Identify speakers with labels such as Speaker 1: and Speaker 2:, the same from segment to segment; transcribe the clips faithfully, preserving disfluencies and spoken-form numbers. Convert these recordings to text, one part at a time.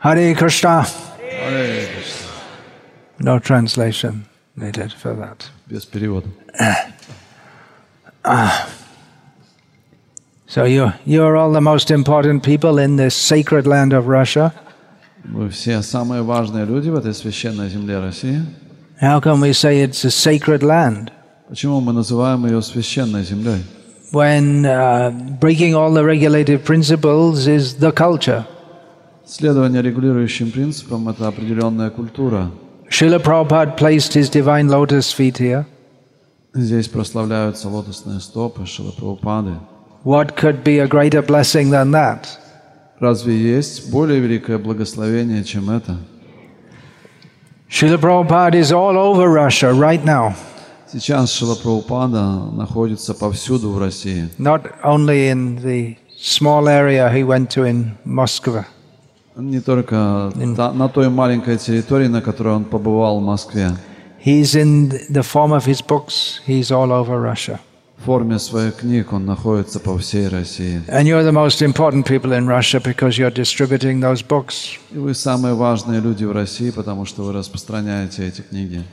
Speaker 1: Hare Krishna.
Speaker 2: Hare Krishna.
Speaker 1: No translation needed for that.
Speaker 2: Без перевода.
Speaker 1: So you you are all the most important people in this sacred land of Russia.
Speaker 2: Вы все самые важные люди в этой священной земле России.
Speaker 1: How can we say it's a sacred land
Speaker 2: Почему мы называем ее священной землей?
Speaker 1: when uh, breaking all the regulative principles is the culture?
Speaker 2: Следование регулирующим принципам – это определенная культура.
Speaker 1: Srila Prabhupada placed his divine lotus feet here.
Speaker 2: Здесь прославляются лотосные стопы Шрилы Прабхупады.
Speaker 1: What could be a greater blessing than that?
Speaker 2: Разве есть более великое благословение, чем это?
Speaker 1: Srila Prabhupada is all over Russia right now.
Speaker 2: Сейчас Шрила Прабхупада находится повсюду в России.
Speaker 1: Not only in the small area he went to in Moscow.
Speaker 2: Не только та, на той маленькой территории, на которой он побывал в Москве.
Speaker 1: He's in the form of his books, he's all over Russia.
Speaker 2: В форме своих книг он находится по всей России.
Speaker 1: And you're the most important people in Russia because you're distributing those books.
Speaker 2: И вы самые важные люди в России, потому что вы распространяете эти книги.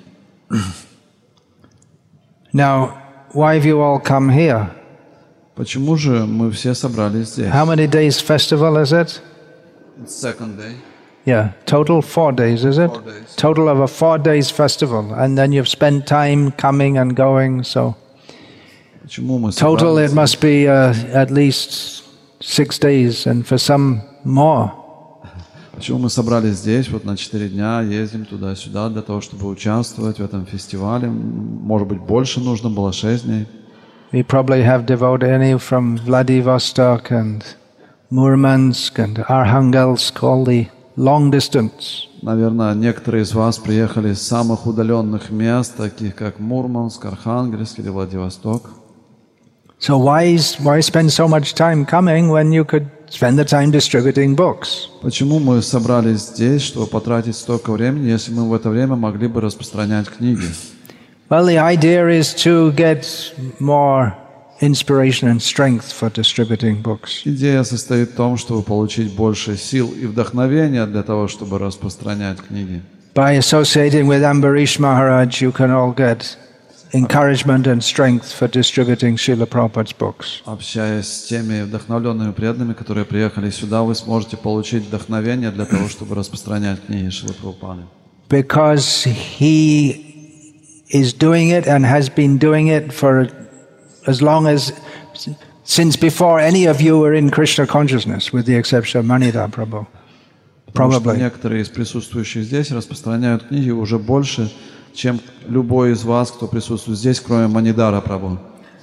Speaker 1: Now, why have you all come here?
Speaker 2: Почему же мы все собрались здесь?
Speaker 1: How many days festival is it?
Speaker 2: It's second day.
Speaker 1: Yeah, total four days, is it?
Speaker 2: Four days.
Speaker 1: Total of a four days festival. And then you've spent time coming and going, so
Speaker 2: Почему мы
Speaker 1: total it
Speaker 2: собрались?
Speaker 1: must be uh, at least six days and for some more.
Speaker 2: Почему мы собрались здесь вот на четыре дня, ездим туда-сюда для того, чтобы участвовать в этом фестивале? Может быть, больше нужно было шесть дней.
Speaker 1: We probably have devotee from Vladivostok and Murmansk and Arhangelsk, all the long distance.
Speaker 2: Наверное, некоторые из вас приехали из самых удаленных мест, таких как Мурманск, Архангельск или Владивосток.
Speaker 1: So why, is, why spend so much time coming when you could spend the time distributing books?
Speaker 2: Почему мы собрались здесь, чтобы потратить столько времени, если мы в это время могли бы распространять книги?
Speaker 1: Well, the idea is to get more inspiration and strength for distributing books.
Speaker 2: Идея состоит в том, чтобы получить больше сил и вдохновения для того, чтобы распространять книги.
Speaker 1: By associating with Ambarish Maharaj, you can all get encouragement and strength for distributing Srila Prabhupada's books.
Speaker 2: Общаясь с теми вдохновленными преданными, которые приехали сюда, вы сможете получить вдохновение для того, чтобы распространять книги Шрилы Прабхупады.
Speaker 1: Because he is doing it and has been doing it for as long as, since before any of you were in Krishna consciousness, with the exception of Manida Prabhu. Probably.
Speaker 2: Некоторые из присутствующих здесь распространяют книги уже больше, чем любой из вас, кто присутствует здесь, кроме Манидара Прабху.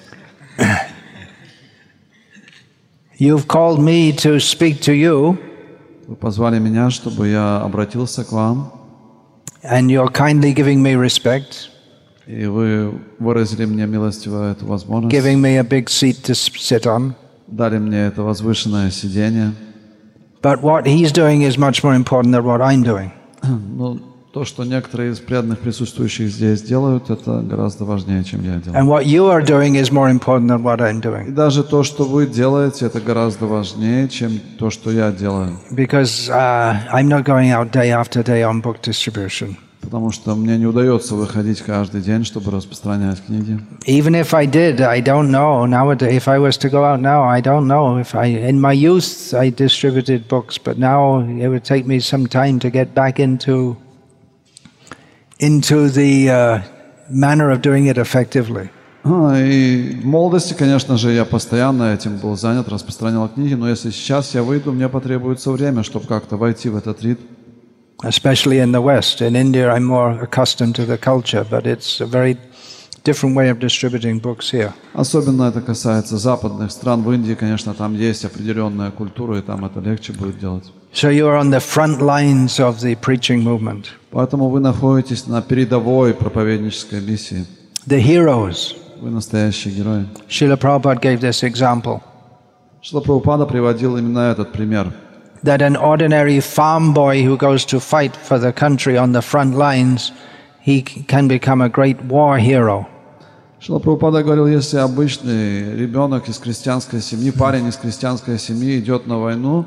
Speaker 1: You've called me to speak to you.
Speaker 2: Вы позвали меня, чтобы я обратился к вам,
Speaker 1: And you're kindly giving me respect,
Speaker 2: и вы выразили мне милостиво эту возможность,
Speaker 1: giving me a big seat to s- sit on.
Speaker 2: дали мне это возвышенное сидение.
Speaker 1: But what he's doing is much more important than what I'm doing.
Speaker 2: Но то, что некоторые из преданных присутствующих здесь делают, это гораздо важнее, чем я делаю.
Speaker 1: And what you are doing is more important than what I'm
Speaker 2: И
Speaker 1: doing.
Speaker 2: даже то, что вы делаете, это гораздо важнее, чем то, что я делаю.
Speaker 1: Because uh, I'm not going out day after day on book distribution.
Speaker 2: Потому что мне не удается выходить каждый день, чтобы распространять книги.
Speaker 1: Even if I did, I don't know nowadays. If I was to go out now, I don't know. If I, in my youth, I distributed books, but now it would take me some time to get back into into the uh, manner of doing it effectively.
Speaker 2: А, и в молодости, конечно же, я постоянно этим был занят, распространял книги, но если сейчас я выйду, мне потребуется время, чтобы как-то войти в этот ритм.
Speaker 1: Especially in the West. In India, I'm more accustomed to the culture, but it's a very different way of distributing books here.
Speaker 2: Особенно это касается западных стран. В Индии, конечно, там есть определенная культура, и там это легче будет делать.
Speaker 1: So you are on the front lines of the preaching movement.
Speaker 2: Поэтому вы находитесь на передовой проповеднической миссии.
Speaker 1: The heroes.
Speaker 2: Вы настоящие герои.
Speaker 1: Srila Prabhupada gave this example,
Speaker 2: Шрила Прабхупада приводил именно этот пример.
Speaker 1: that an ordinary farm boy who goes to fight for the country on the front lines, he can become a great war hero.
Speaker 2: Шрила Прабхупада говорил, если обычный ребенок из крестьянской семьи, парень из крестьянской семьи идет на войну,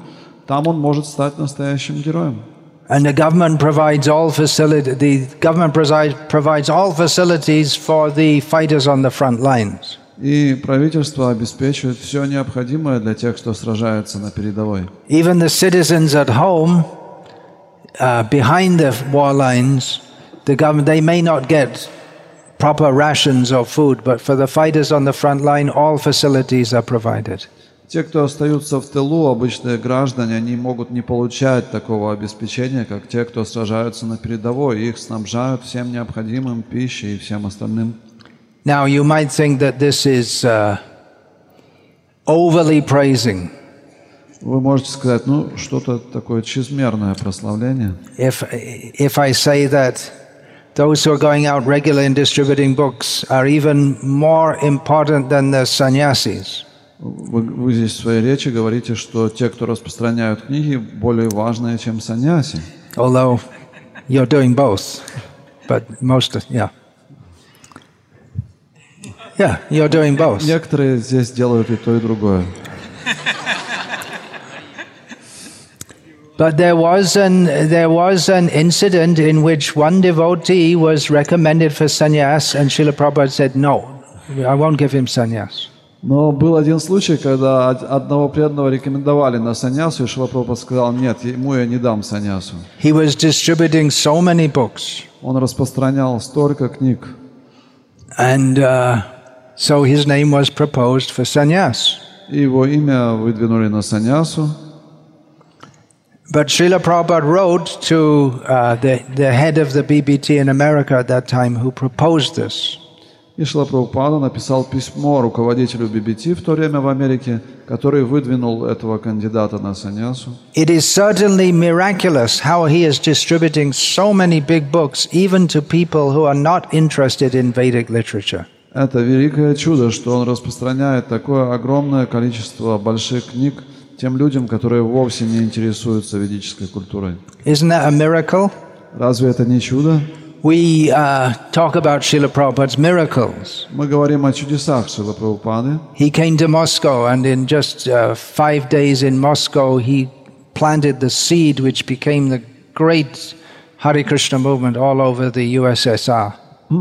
Speaker 2: там он может стать настоящим героем.
Speaker 1: And the government provides all facility, the government provides, provides all facilities for the fighters on the front lines.
Speaker 2: И правительство обеспечивает все необходимое для тех, кто сражается на передовой.
Speaker 1: Even the citizens at home, uh, behind the war lines, the government, they may not get proper rations or food, but for the fighters on the front line, all facilities are provided.
Speaker 2: Те, кто остаются в тылу, обычные граждане, они могут не получать такого обеспечения, как те, кто сражаются на передовой. Их снабжают всем необходимым, пищей и всем остальным.
Speaker 1: Now, you might think that this is uh, overly praising.
Speaker 2: Вы можете сказать, ну, что-то такое чрезмерное прославление.
Speaker 1: If, if I say that those who are going out regularly and distributing books are even more important than the sannyasis.
Speaker 2: Вы, вы здесь в своей речи говорите, что те, кто распространяют книги, более важные, чем саньяси.
Speaker 1: Although you're doing both, but most, of, yeah. Yeah, you're doing both.
Speaker 2: Некоторые здесь делают и то, и другое.
Speaker 1: But there was an there was an incident in which one devotee was recommended for sannyas, and Srila Prabhupada said, "No, I won't give him sannyas."
Speaker 2: Но был один случай, когда одного преданного рекомендовали на саньясу, и Шрила Прабхупада сказал, нет, ему я не дам саньясу.
Speaker 1: He was distributing so many books.
Speaker 2: Он распространял столько книг.
Speaker 1: And uh, so his name was proposed for sannyas.
Speaker 2: И его имя выдвинули на саньясу.
Speaker 1: But Srila Prabhupada wrote to uh, the, the head of the B B T in America at that time who proposed this.
Speaker 2: И Шрила Прабхупада написал письмо руководителю би би ти в то время в Америке, который выдвинул этого кандидата на саньясу.
Speaker 1: It is certainly miraculous how he is distributing so many big books even to people who are not interested in Vedic literature.
Speaker 2: Это великое чудо, что он распространяет такое огромное количество больших книг тем людям, которые вовсе не интересуются ведической культурой.
Speaker 1: Isn't that a miracle?
Speaker 2: Разве это не чудо?
Speaker 1: We uh, talk about Srila Prabhupada's miracles.
Speaker 2: Мы говорим о чудесах Шрилы Прабхупады.
Speaker 1: He came to Moscow, and in just uh, five days in Moscow, he planted the seed which became the great Hare Krishna movement all over the U S S R.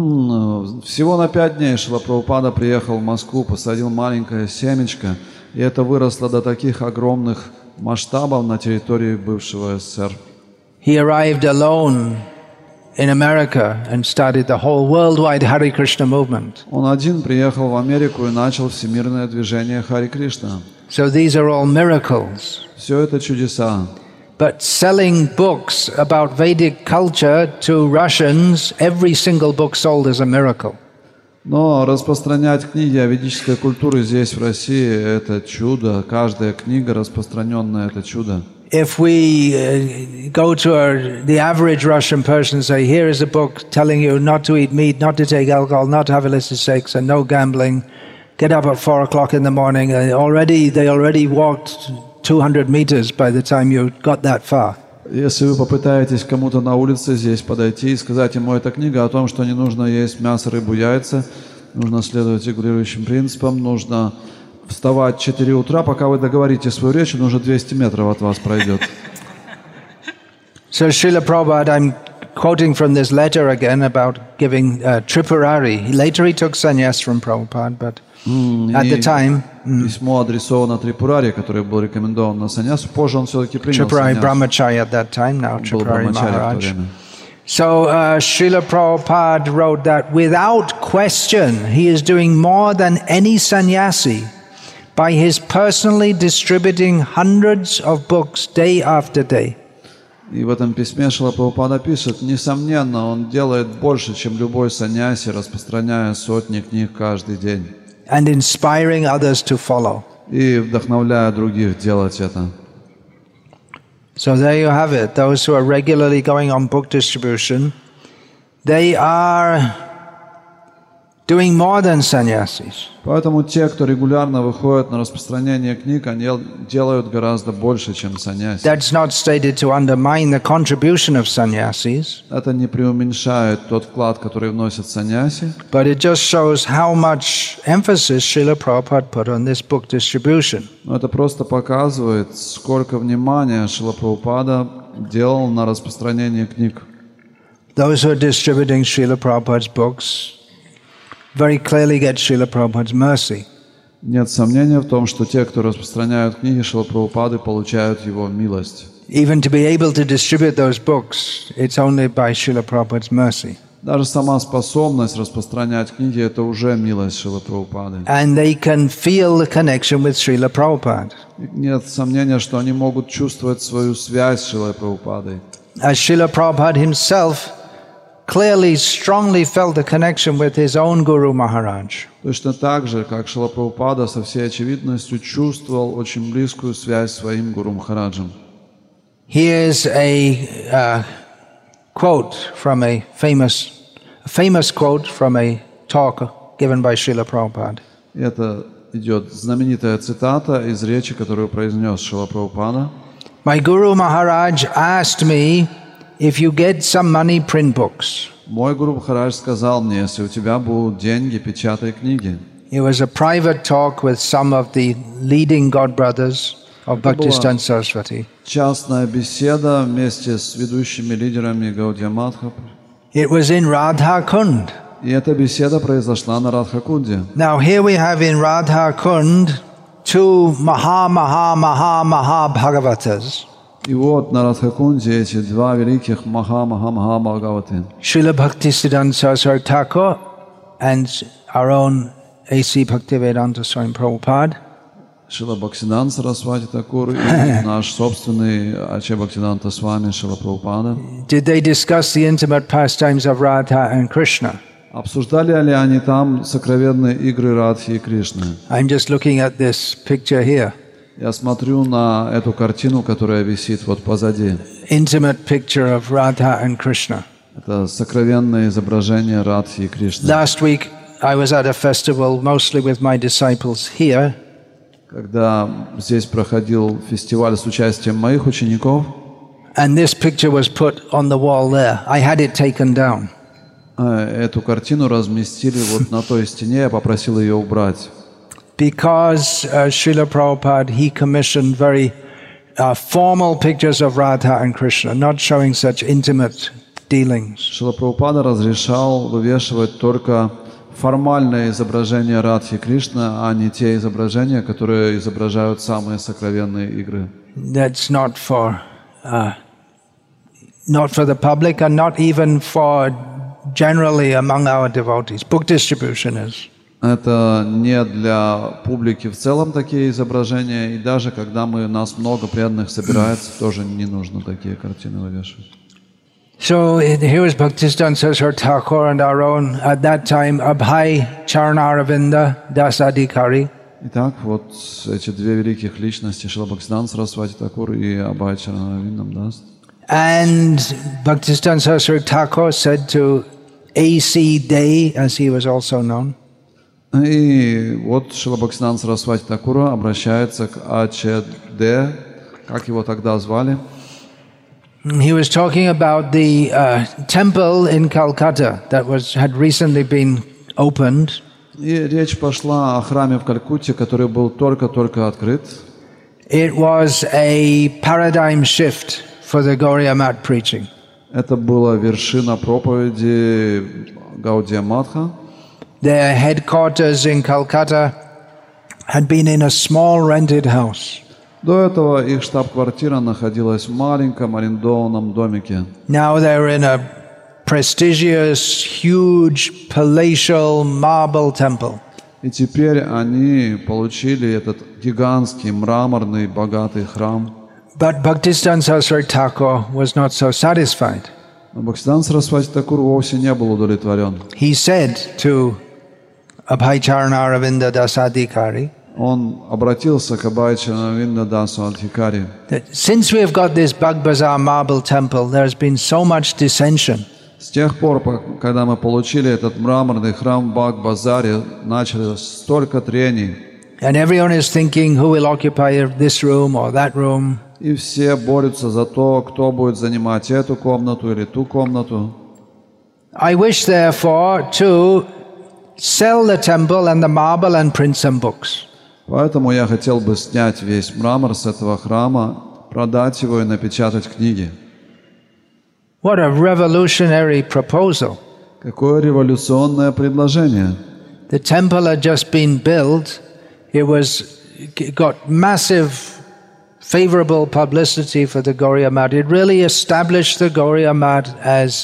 Speaker 2: Всего на пять дней Шрила Прабхупада приехал в Москву, посадил маленькое семечко, и это выросло до таких огромных масштабов на территории бывшего СССР.
Speaker 1: He arrived alone in America and started the whole worldwide Hare Krishna movement.
Speaker 2: Он один приехал в Америку и начал всемирное движение Харе Кришна.
Speaker 1: So these are all miracles.
Speaker 2: Все это чудеса.
Speaker 1: But selling books about Vedic culture to Russians, every single book sold is a miracle.
Speaker 2: Но распространять книги о ведической культуре здесь, в России, это чудо. Каждая книга распространенная, это чудо.
Speaker 1: If we uh, go to our, the average Russian person and say, here is a book telling you not to eat meat, not to take alcohol, not to have illicit sex, and no gambling, get up at four o'clock in the morning, and already they already walked two hundred meters by the time you got that far.
Speaker 2: Если вы попытаетесь кому-то на улице здесь подойти и сказать ему, эта книга о том, что не нужно есть мясо, рыбу, яйца, нужно следовать регулирующим принципам, нужно вставать в четыре утра, пока вы договорите свою речь, он уже двести метров от вас пройдет.
Speaker 1: So Srila Prabhupada, I'm quoting from this letter again about giving uh, Tripurari. Later he took sannyas from Prabhupada, but mm, at the time... Mm,
Speaker 2: письмо адресовано Трипурари, который был рекомендован на саньясу. Позже он все-таки принял
Speaker 1: Tripurari
Speaker 2: саньясу.
Speaker 1: Brahmachari at that time, now
Speaker 2: Был
Speaker 1: Tripurari
Speaker 2: брамачари в то
Speaker 1: Maharaj.
Speaker 2: время.
Speaker 1: So uh, Srila Prabhupada wrote that without question, he is doing more than any sannyasi by his personally distributing hundreds of books day after day.
Speaker 2: И в этом письме Шрила Прабхупада пишет, несомненно, он делает больше, чем любой саньяси, распространяя сотни книг каждый день.
Speaker 1: And inspiring others to follow.
Speaker 2: И вдохновляя других делать это.
Speaker 1: So there you have it. Those who are regularly going on book distribution, they are doing more than sannyasis.
Speaker 2: Поэтому те, кто регулярно выходит на распространение книг, они делают гораздо больше, чем саньяси.
Speaker 1: That's not stated to undermine the contribution of sannyasis,
Speaker 2: Это не преуменьшает тот вклад, который вносит саньяси,
Speaker 1: but it just shows how much emphasis Srila Prabhupada put on this book distribution.
Speaker 2: но это просто показывает, сколько внимания Шрила Прабхупада делал на распространение книг.
Speaker 1: Those who are distributing Srila Prabhupada's books very clearly get Srila Prabhupada's mercy.
Speaker 2: Нет сомнения в том, что те, кто распространяют книги Шрилы Прабхупады, получают его милость.
Speaker 1: Even to be able to distribute those books, it's only by Srila Prabhupada's mercy.
Speaker 2: Даже сама способность распространять книги – это уже милость Шрилы Прабхупады.
Speaker 1: And they can feel the connection with Srila Prabhupada.
Speaker 2: Нет сомнения, что они могут чувствовать свою связь с Шрилой Прабхупадой.
Speaker 1: As Srila Prabhupada himself clearly, strongly felt the connection with his own Guru Maharaj.
Speaker 2: Точно так же, как Шрила Прабхупада со всей очевидностью чувствовал очень близкую связь с своим Гуру Махараджем.
Speaker 1: Here's a uh, quote from a famous, a famous quote from a talk given by Srila Prabhupada.
Speaker 2: Это идет знаменитая цитата из речи, которую произнес Шрила Прабхупада.
Speaker 1: My Guru Maharaj asked me, if you get some money, print books.
Speaker 2: Мой Гуру Махарадж сказал мне, если у тебя будут деньги, печатай книги.
Speaker 1: It was a private talk with some of the leading godbrothers of Bhaktisiddhanta Saraswati.
Speaker 2: Частная беседа вместе с ведущими лидерами Гаудия Мадха.
Speaker 1: It was in Radha Kund.
Speaker 2: И эта беседа произошла на Радха-кунде.
Speaker 1: Now here we have in Radha Kund two Maha Maha Maha Maha Bhagavatas.
Speaker 2: И вот на Радха-кунде эти два великих Маха-Маха-Маха Бхагаваты.
Speaker 1: Srila Bhaktisiddhanta Saraswati Thakur and our own A C Bhaktivedanta Swami Prabhupada.
Speaker 2: Шрила Бхактисиданта Сарасвати Такур и наш собственный Аче Бхактисиданта Свами Шрила Прабхупада.
Speaker 1: Did they discuss the intimate pastimes of Radha and Krishna?
Speaker 2: Обсуждали ли они там сокровенные игры Радхи и Кришны?
Speaker 1: I'm just looking at this picture here.
Speaker 2: Я смотрю на эту картину, которая висит вот позади.
Speaker 1: Intimate picture of Radha and Krishna.
Speaker 2: Это сокровенное изображение Радхи и Кришны.
Speaker 1: Last week I was at a festival mostly with my disciples here.
Speaker 2: Когда здесь проходил фестиваль с участием моих учеников,
Speaker 1: and this picture was put on the wall there. I had it taken down.
Speaker 2: Эту картину разместили вот на той стене, я попросил ее убрать.
Speaker 1: Because uh, Srila Prabhupada, he commissioned very uh, formal pictures of Radha and Krishna, not showing such intimate dealings.
Speaker 2: Шрила Прабхупада разрешал вывешивать только формальное изображение Радхи и Кришны, а не те изображения, которые изображают самые сокровенные игры.
Speaker 1: That's not for, uh, not for the public and not even for generally among our devotees. Book distribution is.
Speaker 2: Это не для публики в целом такие изображения, и даже когда мы, нас много преданных собирается, тоже не нужно такие картины вывешивать.
Speaker 1: So here is Bhaktisiddhanta Saraswati Thakur and our own, at that time, Abhay Charanaravinda Das Adhikari.
Speaker 2: Итак, вот эти две великих личности, Шрила Бхактисиданта Сарасвати Такур и Абхай Чаранаравиндам Дас.
Speaker 1: And Bhaktisiddhanta Saraswati Thakur said to A C Day, as he was also known,
Speaker 2: и вот Шрила Бхактисиданта Сарасвати Такура обращается к Аче Де, как его тогда звали.
Speaker 1: He was talking about the uh, temple in Calcutta that was had recently been opened.
Speaker 2: И речь пошла о храме в Калькутте, который был только-только открыт.
Speaker 1: It was a paradigm shift for the Gauriya Math preaching.
Speaker 2: Это была вершина проповеди Гаудия Матха.
Speaker 1: Their headquarters in Calcutta had been in a small rented house.
Speaker 2: До этого их штаб-квартира находилась в маленьком арендованном домике.
Speaker 1: Now they're in a prestigious, huge, palatial marble temple.
Speaker 2: И теперь они получили этот гигантский, мраморный, богатый храм.
Speaker 1: But Bhaktisiddhanta Saraswati Thakur was not so satisfied.
Speaker 2: Но Бхактисиданта Сарасвати Такур вовсе не был удовлетворен.
Speaker 1: He said to Abhay Charanaravinda Das Adhikari,
Speaker 2: Он обратился к Абхай Чаранавинда Дасу
Speaker 1: that since we have got this Bag Bazar marble temple, there has been so much dissension.
Speaker 2: С тех пор, когда мы получили этот мраморный храм в Баг-Базаре, началось столько трений.
Speaker 1: And everyone is thinking who will occupy this room or that room.
Speaker 2: И все борются за то, кто будет занимать эту комнату или ту комнату.
Speaker 1: I wish, therefore, to sell the temple and the marble and print some books.
Speaker 2: Поэтому я хотел бы снять весь мрамор с этого храма, продать его и напечатать книги.
Speaker 1: What a revolutionary proposal.
Speaker 2: Какое революционное предложение.
Speaker 1: The temple had just been built. It was it got massive favorable publicity for the Gauriya Math. It really established the Gauriya Math as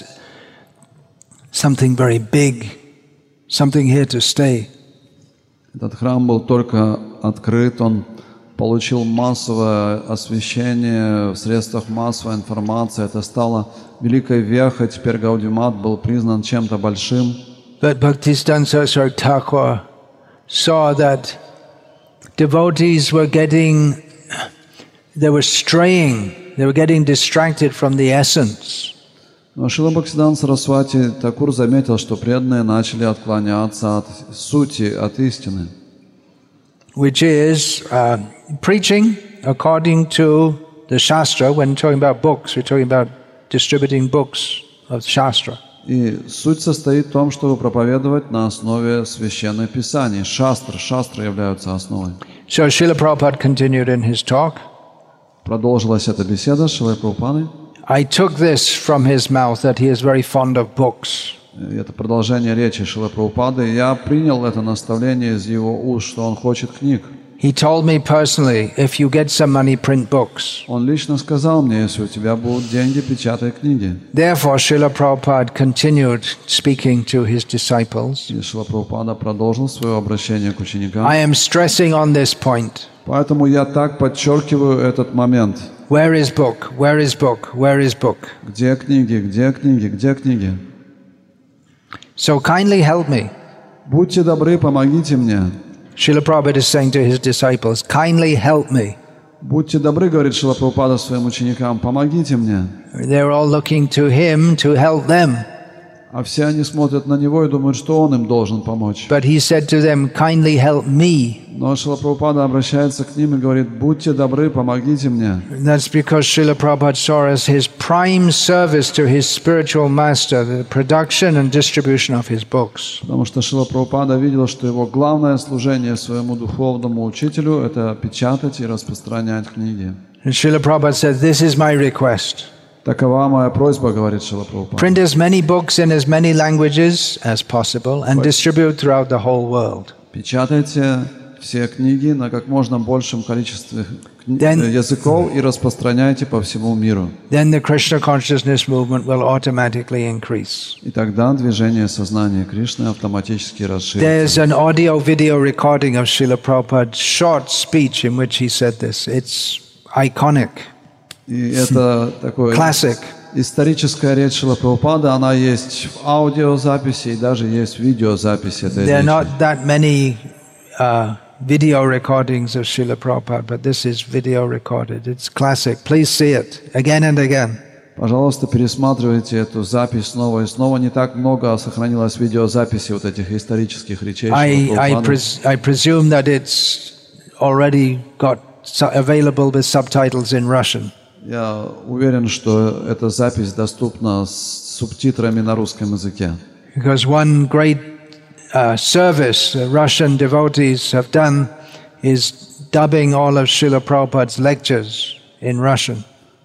Speaker 1: something very big, something here to stay.
Speaker 2: Этот храм был только открыт, он получил массовое освещение в средствах массовой информации. Это стало великой вехой. Теперь Гаудия Мат был признан чем-то большим.
Speaker 1: But Bhaktisiddhanta Saraswati Thakur saw that devotees were getting, they were straying, they were getting distracted from the essence.
Speaker 2: Но Шрила Бхактисиддханта Сарасвати Такур заметил, что преданные начали отклоняться от сути, от истины.
Speaker 1: Which is uh, preaching according to the Shastra. When talking about books, we're talking about distributing books of Shastra.
Speaker 2: И суть состоит в том, чтобы проповедовать на основе священных писаний. Шастры, шастры являются основой.
Speaker 1: So Srila Prabhupada continued in his talk.
Speaker 2: Продолжилась эта беседа с Шрилой Прабхупадой.
Speaker 1: I took this from his mouth that he is very fond of books.
Speaker 2: Это продолжение речи Шрилы Прабхупады. Я принял это наставление из его уст, что он хочет книг.
Speaker 1: He told me personally, if you get some money, print books.
Speaker 2: Он лично сказал мне, если у тебя будут деньги, печатай книги.
Speaker 1: Therefore, Srila Prabhupada continued speaking to his disciples.
Speaker 2: И Шрила Прабхупада продолжил свое обращение к ученикам.
Speaker 1: I am stressing on this point.
Speaker 2: Поэтому я так подчеркиваю этот момент.
Speaker 1: Where is book? Where is book? Where is book?
Speaker 2: Где книги? Где книги? Где книги?
Speaker 1: So kindly help me.
Speaker 2: Будьте добры, помогите мне.
Speaker 1: Srila Prabhupada is saying to his disciples, kindly help me.
Speaker 2: Будьте добры, говорит Шрила Прабхупада своим ученикам, помогите мне.
Speaker 1: They're all looking to him to help them.
Speaker 2: А все они смотрят на него и думают, что он им должен помочь.
Speaker 1: But he said to them, kindly help me.
Speaker 2: Но Шрила Прабхупада обращается к ним и говорит, будьте добры, помогите мне.
Speaker 1: That's because Srila Prabhupada saw as his prime service to his spiritual master, the production and distribution of his books.
Speaker 2: Потому что Шрила Прабхупада видел, что его главное служение своему духовному учителю – это печатать и распространять книги.
Speaker 1: And Srila Prabhupada said, this is my request.
Speaker 2: Такова моя просьба, говорит Шрила Прабхупада.
Speaker 1: Print as many books in as many languages as possible and distribute throughout the whole world.
Speaker 2: Печатайте все книги на как можно большем количестве кни-
Speaker 1: Then-
Speaker 2: языков и распространяйте по всему миру.
Speaker 1: Then the Krishna consciousness movement will automatically increase.
Speaker 2: И тогда движение сознания Кришны автоматически расширится.
Speaker 1: There's an audio-video recording of Srila Prabhupada's short speech in which he said this. It's iconic,
Speaker 2: И это такое
Speaker 1: classic.
Speaker 2: историческая речь Шрилы Прабхупады, она есть в аудиозаписи и даже есть в видеозаписи этой
Speaker 1: There are
Speaker 2: речи.
Speaker 1: not that many uh, video recordings of Srila Prabhupada, but this is video recorded. It's classic. Please see it again and again.
Speaker 2: Пожалуйста, пересматривайте эту запись снова и снова. Не так много сохранилось видеозаписи вот этих исторических речей
Speaker 1: I,
Speaker 2: Шрилы
Speaker 1: I,
Speaker 2: Прабхупады.
Speaker 1: pres- I presume that it's already got su- available with subtitles in Russian.
Speaker 2: Я уверен, что эта запись доступна с субтитрами на русском языке.
Speaker 1: Because one great uh, service the Russian devotees have done is dubbing all of Srila Prabhupada's lectures in Russian.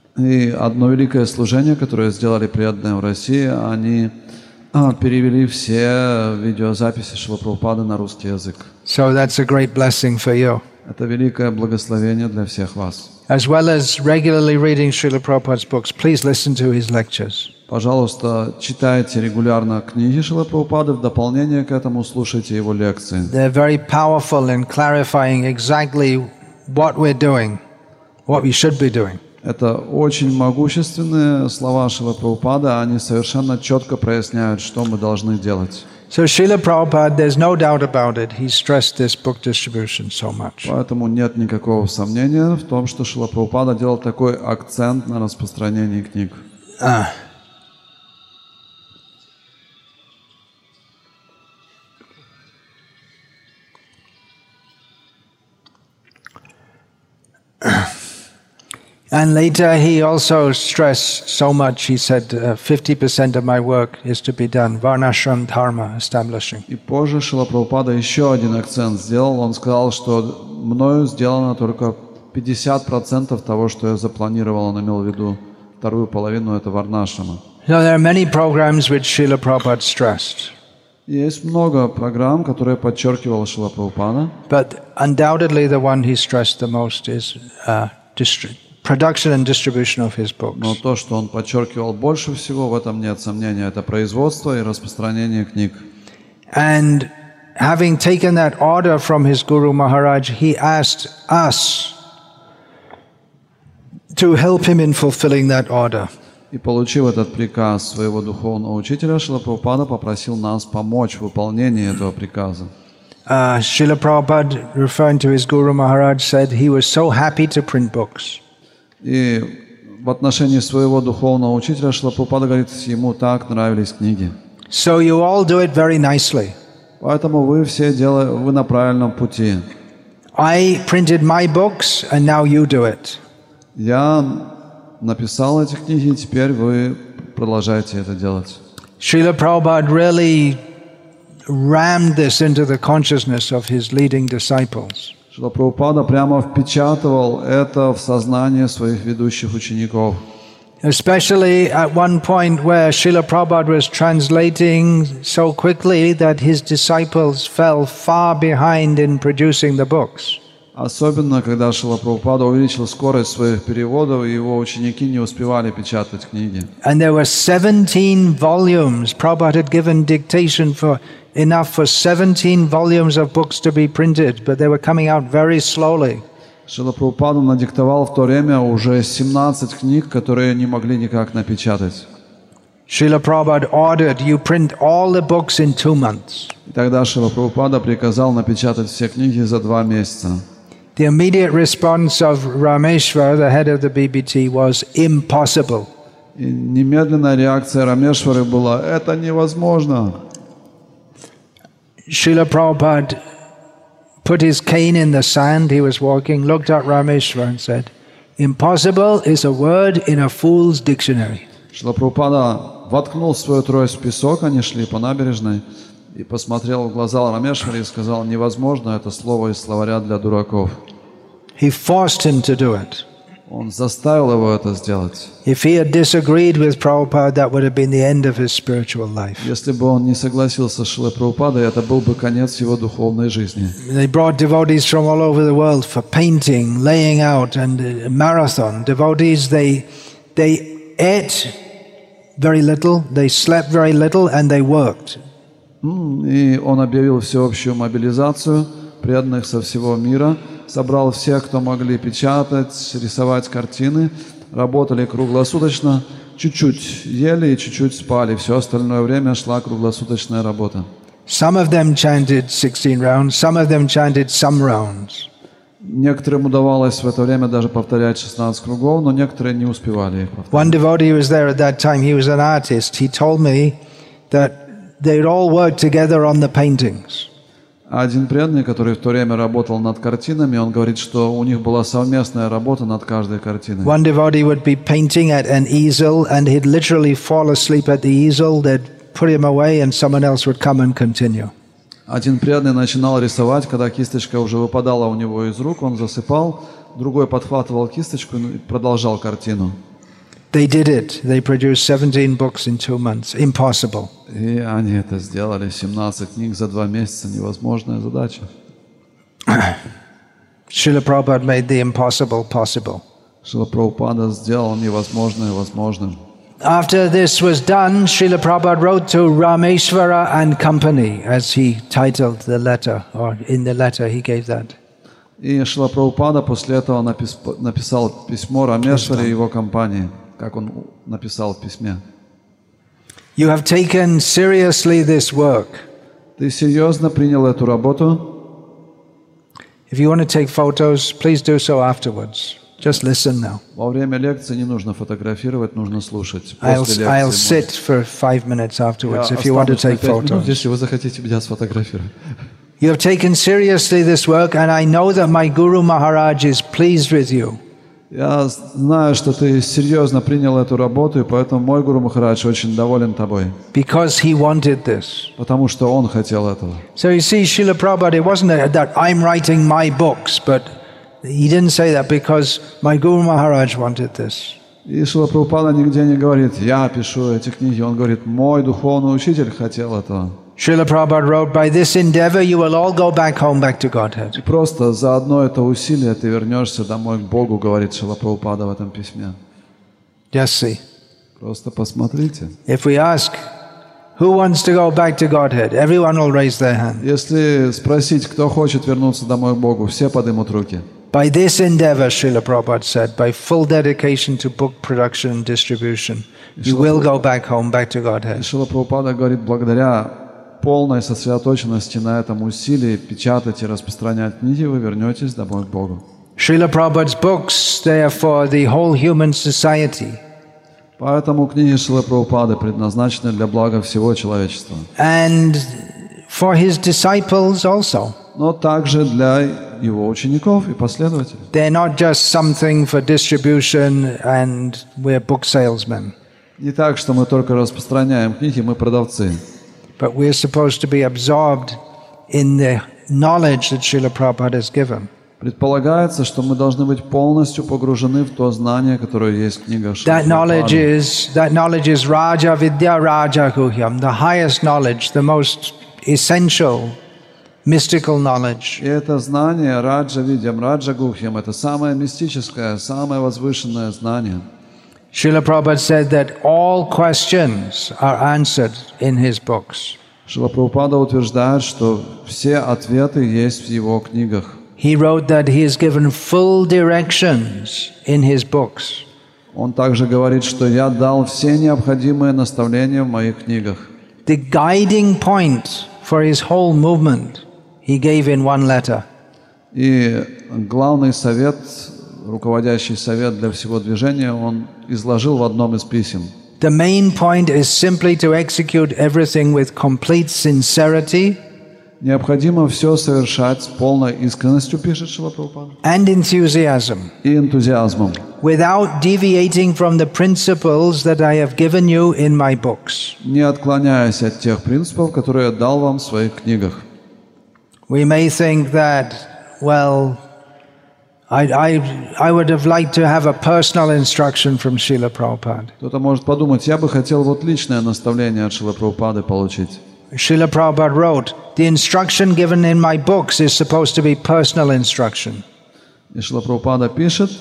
Speaker 2: И одно великое служение, которое сделали преданные в России, они а, перевели все видеозаписи Шрилы Прабхупады на русский язык.
Speaker 1: So that's a great blessing for you.
Speaker 2: Это великое благословение для всех вас.
Speaker 1: As well as regularly reading Srila Prabhupada's books, please listen to his lectures.
Speaker 2: Пожалуйста, читайте регулярно книги Шрилы Прабхупады, в дополнение к этому слушайте его лекции.
Speaker 1: They're very powerful in clarifying exactly what we're doing, what we should be doing.
Speaker 2: Это очень могущественные слова Шрилы Прабхупады, они совершенно четко проясняют, что мы должны делать.
Speaker 1: So Srila Prabhupada, there's no doubt about it, he stressed this book distribution so much.
Speaker 2: Поэтому нет никакого сомнения в том, что Шрила Прабхупада делал такой акцент на распространении книг.
Speaker 1: Uh, And later he also stressed so much, he said, uh, fifty percent of my work is to be done, Varnashram Dharma establishing.
Speaker 2: И позже Шрила Прабхупада еще один акцент сделал. Он сказал, что мною сделано только пятьдесят процентов того, что я запланировал. Он имел в виду вторую половину, это Варнашрама.
Speaker 1: So there are many programs which Srila Prabhupada stressed.
Speaker 2: Есть много программ, которые подчеркивал Шрила Прабхупада.
Speaker 1: But undoubtedly the one he stressed the most is uh, distri- production and distribution of his books.
Speaker 2: Но то, что он подчеркивал больше всего, в этом нет сомнения, это производство и распространение книг.
Speaker 1: And having taken that order from his Guru Maharaj, he asked us to help him in fulfilling that order.
Speaker 2: И получив этот приказ своего духовного учителя, Шрила Прабхупада попросил нас помочь в выполнении этого приказа.
Speaker 1: Uh, Srila Prabhupada, referring to his Guru Maharaj, said he was so happy to print books.
Speaker 2: И в отношении своего духовного учителя Шрила Прабхупада говорит, ему так нравились книги.
Speaker 1: So you all do it very nicely.
Speaker 2: Поэтому вы все делаете, вы на правильном пути.
Speaker 1: I printed my books and now you do it.
Speaker 2: Я написал эти книги, и теперь вы продолжаете это делать.
Speaker 1: Srila Prabhupada really rammed this into the consciousness of his leading disciples.
Speaker 2: Шрила Прабхупада прямо впечатывал это в сознание своих ведущих учеников.
Speaker 1: Especially at one point where Srila Prabhupada was translating so quickly that his disciples fell far behind in producing the books.
Speaker 2: Особенно, когда Шрила Прабхупада увеличил скорость своих переводов, и его ученики не успевали печатать книги.
Speaker 1: And there were seventeen volumes. Prabhupada had given dictation for enough for seventeen volumes of books to be printed, but they were coming out very slowly.
Speaker 2: Шрила Прабхупада надиктовал в то время уже семнадцать книг, которые не могли никак напечатать.
Speaker 1: Srila Prabhupada ordered, you print all the books in two months.
Speaker 2: И тогда Шрила Прабхупада приказал напечатать все книги за два месяца.
Speaker 1: The immediate response of Rameshwar, the head of the B B T, was impossible.
Speaker 2: И немедленная реакция Рамешвары была: это невозможно.
Speaker 1: Srila Prabhupada put his cane in the sand, he was walking, looked at Rameshwar and said, impossible is a word in a fool's dictionary.
Speaker 2: Шрила Прабхупада воткнул свою трость в песок, они шли по набережной, и посмотрел в глаза Рамешваре и сказал: невозможно, это слово из словаря для дураков.
Speaker 1: He forced him to do it.
Speaker 2: Он заставил его это сделать.
Speaker 1: If he had disagreed with Prabhupada, that would have been the end of his spiritual life.
Speaker 2: Если бы он не согласился с Шрилой Прабхупадой, это был бы конец его духовной жизни.
Speaker 1: They brought devotees from all over the world for painting, laying out, and a marathon. Devotees, they they ate very little, they slept very little, and they worked.
Speaker 2: И он объявил всеобщую мобилизацию преданных со всего мира, собрал всех, кто могли печатать, рисовать картины, работали круглосуточно, чуть-чуть ели и чуть-чуть спали. Все остальное время шла круглосуточная работа.
Speaker 1: Some of them chanted sixteen rounds, some of them chanted some rounds.
Speaker 2: Некоторым удавалось в это время даже повторять шестнадцать кругов, но некоторые не успевали их повторять.
Speaker 1: One devotee was there at that time, he was an artist. He told me that they'd all work together on the paintings.
Speaker 2: Один преданный, который в то время работал над картинами, он говорит, что у них была совместная работа над каждой картиной.
Speaker 1: One devotee would be painting at an easel and he'd literally fall asleep at the easel. They'd put him away and someone else would come and continue.
Speaker 2: Один преданный начинал рисовать, когда кисточка уже выпадала у него из рук, он засыпал, другой подхватывал кисточку и продолжал картину.
Speaker 1: They did it. They produced seventeen books in two months. Impossible.
Speaker 2: И они это сделали. семнадцать книг за два месяца. Невозможная задача.
Speaker 1: Srila Prabhupada made the impossible possible.
Speaker 2: Шрила Прабхупада сделал невозможное возможным.
Speaker 1: After this was done, Srila Prabhupada wrote to Rameshwara and Company, as he titled the letter, or in the letter he gave that.
Speaker 2: И Шрила Прабхупада после этого напис, написал письмо Рамешваре и его компании, как он написал в письме.
Speaker 1: You have taken seriously this work.
Speaker 2: Ты серьезно принял эту работу?
Speaker 1: If you want to take photos, please do so afterwards. Just listen now.
Speaker 2: Во время лекции не нужно фотографировать, нужно слушать.
Speaker 1: I'll,
Speaker 2: После
Speaker 1: I'll
Speaker 2: лекции
Speaker 1: sit for five minutes afterwards
Speaker 2: я
Speaker 1: if you want to
Speaker 2: останусь на
Speaker 1: take
Speaker 2: пять минут,
Speaker 1: photos.
Speaker 2: если вы захотите меня сфотографировать.
Speaker 1: You have taken seriously this work, and I know that my Guru Maharaj is pleased with you.
Speaker 2: Я знаю, что ты серьезно принял эту работу, и поэтому мой Гуру Махарадж очень доволен тобой,
Speaker 1: because he wanted this.
Speaker 2: потому что он хотел этого.
Speaker 1: So you see, Srila Prabhupada, it wasn't that I'm writing my books, but he didn't say that because my Guru Maharaj wanted this.
Speaker 2: И Шрила Прабхупада нигде не говорит, я пишу эти книги, он говорит, мой духовный учитель хотел этого.
Speaker 1: Srila Prabhupada wrote, by this endeavor you will all go back home, back to Godhead.
Speaker 2: И просто за одно это усилие ты вернешься домой к Богу, говорит Шрила Прабхупада в этом письме.
Speaker 1: Just see.
Speaker 2: Просто посмотрите.
Speaker 1: If we ask, who wants to go back to Godhead? Everyone will raise their hand.
Speaker 2: Если спросить, кто хочет вернуться домой к Богу, все поднимут руки.
Speaker 1: By this endeavor, Srila Prabhupada said, by full dedication to book production and distribution, you will go back home, back to
Speaker 2: И
Speaker 1: Godhead.
Speaker 2: Шрила Прабхупада говорит, благодаря полной сосредоточенности на этом усилии печатать и распространять книги, вы вернетесь домой к Богу.
Speaker 1: Srila Prabhupada's books, they are for the whole human society.
Speaker 2: Поэтому книги Шрилы Прабхупады предназначены для блага всего человечества.
Speaker 1: And for his disciples also.
Speaker 2: Но также для его учеников и последователей.
Speaker 1: They're not just something for distribution and we're book salesmen.
Speaker 2: Не так, что мы только распространяем книги, мы продавцы.
Speaker 1: But we're supposed to be absorbed in the knowledge that Srila Prabhupada has given.
Speaker 2: Предполагается, что мы должны быть полностью погружены в то знание, которое есть в книгах Шрилы
Speaker 1: That knowledge
Speaker 2: Прабхупады.
Speaker 1: is that knowledge is Raja Vidya Raja Guhyam, the highest knowledge, the most essential mystical knowledge.
Speaker 2: И это знание Раджа Видьям, Раджа Гухьям, это самое мистическое, самое возвышенное знание.
Speaker 1: Srila Prabhupada said that all questions are answered in his books.
Speaker 2: Шрила Прабхупада утверждает, что все ответы есть в его книгах.
Speaker 1: He wrote that he has given full directions in his books.
Speaker 2: Он также говорит, что я дал все необходимые наставления в моих книгах.
Speaker 1: The guiding point for his whole movement he gave in one letter.
Speaker 2: И главный совет, руководящий совет для всего движения, он изложил в одном из писем.
Speaker 1: The main point is simply to execute everything with complete sincerity
Speaker 2: Необходимо все совершать с полной искренностью, пишет Шрила Прабхупада,
Speaker 1: and enthusiasm,
Speaker 2: и энтузиазмом,
Speaker 1: without deviating from the principles that I have given you in my books.
Speaker 2: не отклоняясь от тех принципов, которые я дал вам в своих книгах.
Speaker 1: We may think that, well, I, I, I would have liked to have a personal instruction from Srila Prabhupada.
Speaker 2: Кто-то может подумать, я бы хотел вот личное наставление от Шрилы Прабхупады получить.
Speaker 1: Srila Prabhupada wrote, the instruction given in my books is supposed to be personal instruction.
Speaker 2: И Шрила Прабхупада пишет,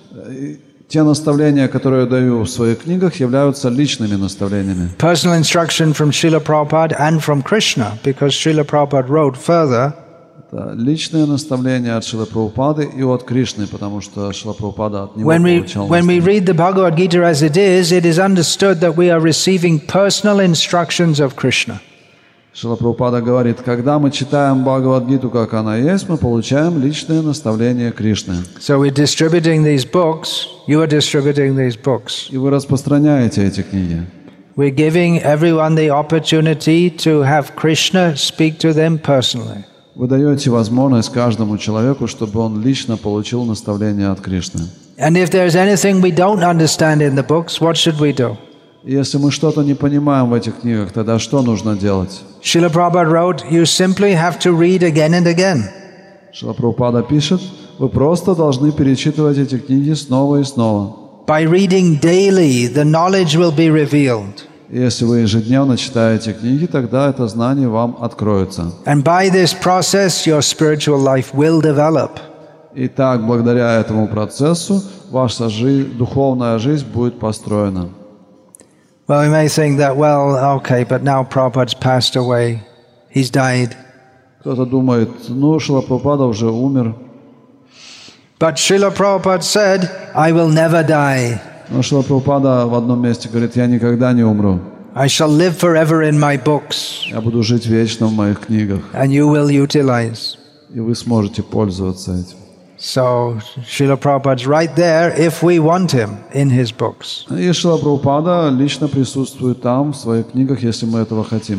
Speaker 2: те наставления, которые я даю в своих книгах, являются личными наставлениями.
Speaker 1: Personal instruction from Srila Prabhupada and from Krishna, because Srila Prabhupada wrote further,
Speaker 2: Это личные наставления от Шрилы Прабхупады и от Кришны, потому что Шрила Прабхупада от него
Speaker 1: when we,
Speaker 2: получал
Speaker 1: when we
Speaker 2: наставления.
Speaker 1: read the Bhagavad Gita as it is, it is understood that we are receiving personal instructions of Krishna.
Speaker 2: Шрила Прабхупада говорит, когда мы читаем Бхагавад-гиту, как она есть, мы получаем личные наставления Кришны.
Speaker 1: So we're distributing these books, you are distributing these books.
Speaker 2: И вы распространяете эти книги.
Speaker 1: We're giving everyone the opportunity to have Krishna speak to them personally.
Speaker 2: Вы даете возможность каждому человеку, чтобы он лично получил наставление от Кришны.
Speaker 1: And if there's anything we don't understand in the books, what should we do?
Speaker 2: И если мы что-то не понимаем в этих книгах, тогда что нужно делать?
Speaker 1: Srila Prabhupada wrote, you simply have to read again and again.
Speaker 2: Шрила Прабхупада пишет, вы просто должны перечитывать эти книги снова и снова.
Speaker 1: By reading daily, the knowledge will be revealed.
Speaker 2: И если вы ежедневно читаете книги, тогда это знание вам откроется.
Speaker 1: And by this process, your spiritual life will develop.
Speaker 2: И так, благодаря этому процессу, ваша жизнь, духовная жизнь будет построена.
Speaker 1: Well, we may think that, well, okay, but now Prabhupada's passed away. He's died.
Speaker 2: Кто-то думает, ну, Шрила Прабхупада уже умер.
Speaker 1: But Srila Prabhupada said, I will never die.
Speaker 2: Но Шрила Прабхупада в одном месте говорит, я никогда не умру.
Speaker 1: I shall live forever in my books,
Speaker 2: Я буду жить вечно в моих книгах.
Speaker 1: and you will utilize.
Speaker 2: И вы сможете пользоваться этим.
Speaker 1: So, Srila Prabhupada's right there if we want him in his books.
Speaker 2: И Шрила Прабхупада лично присутствует там, в своих книгах, если мы этого хотим.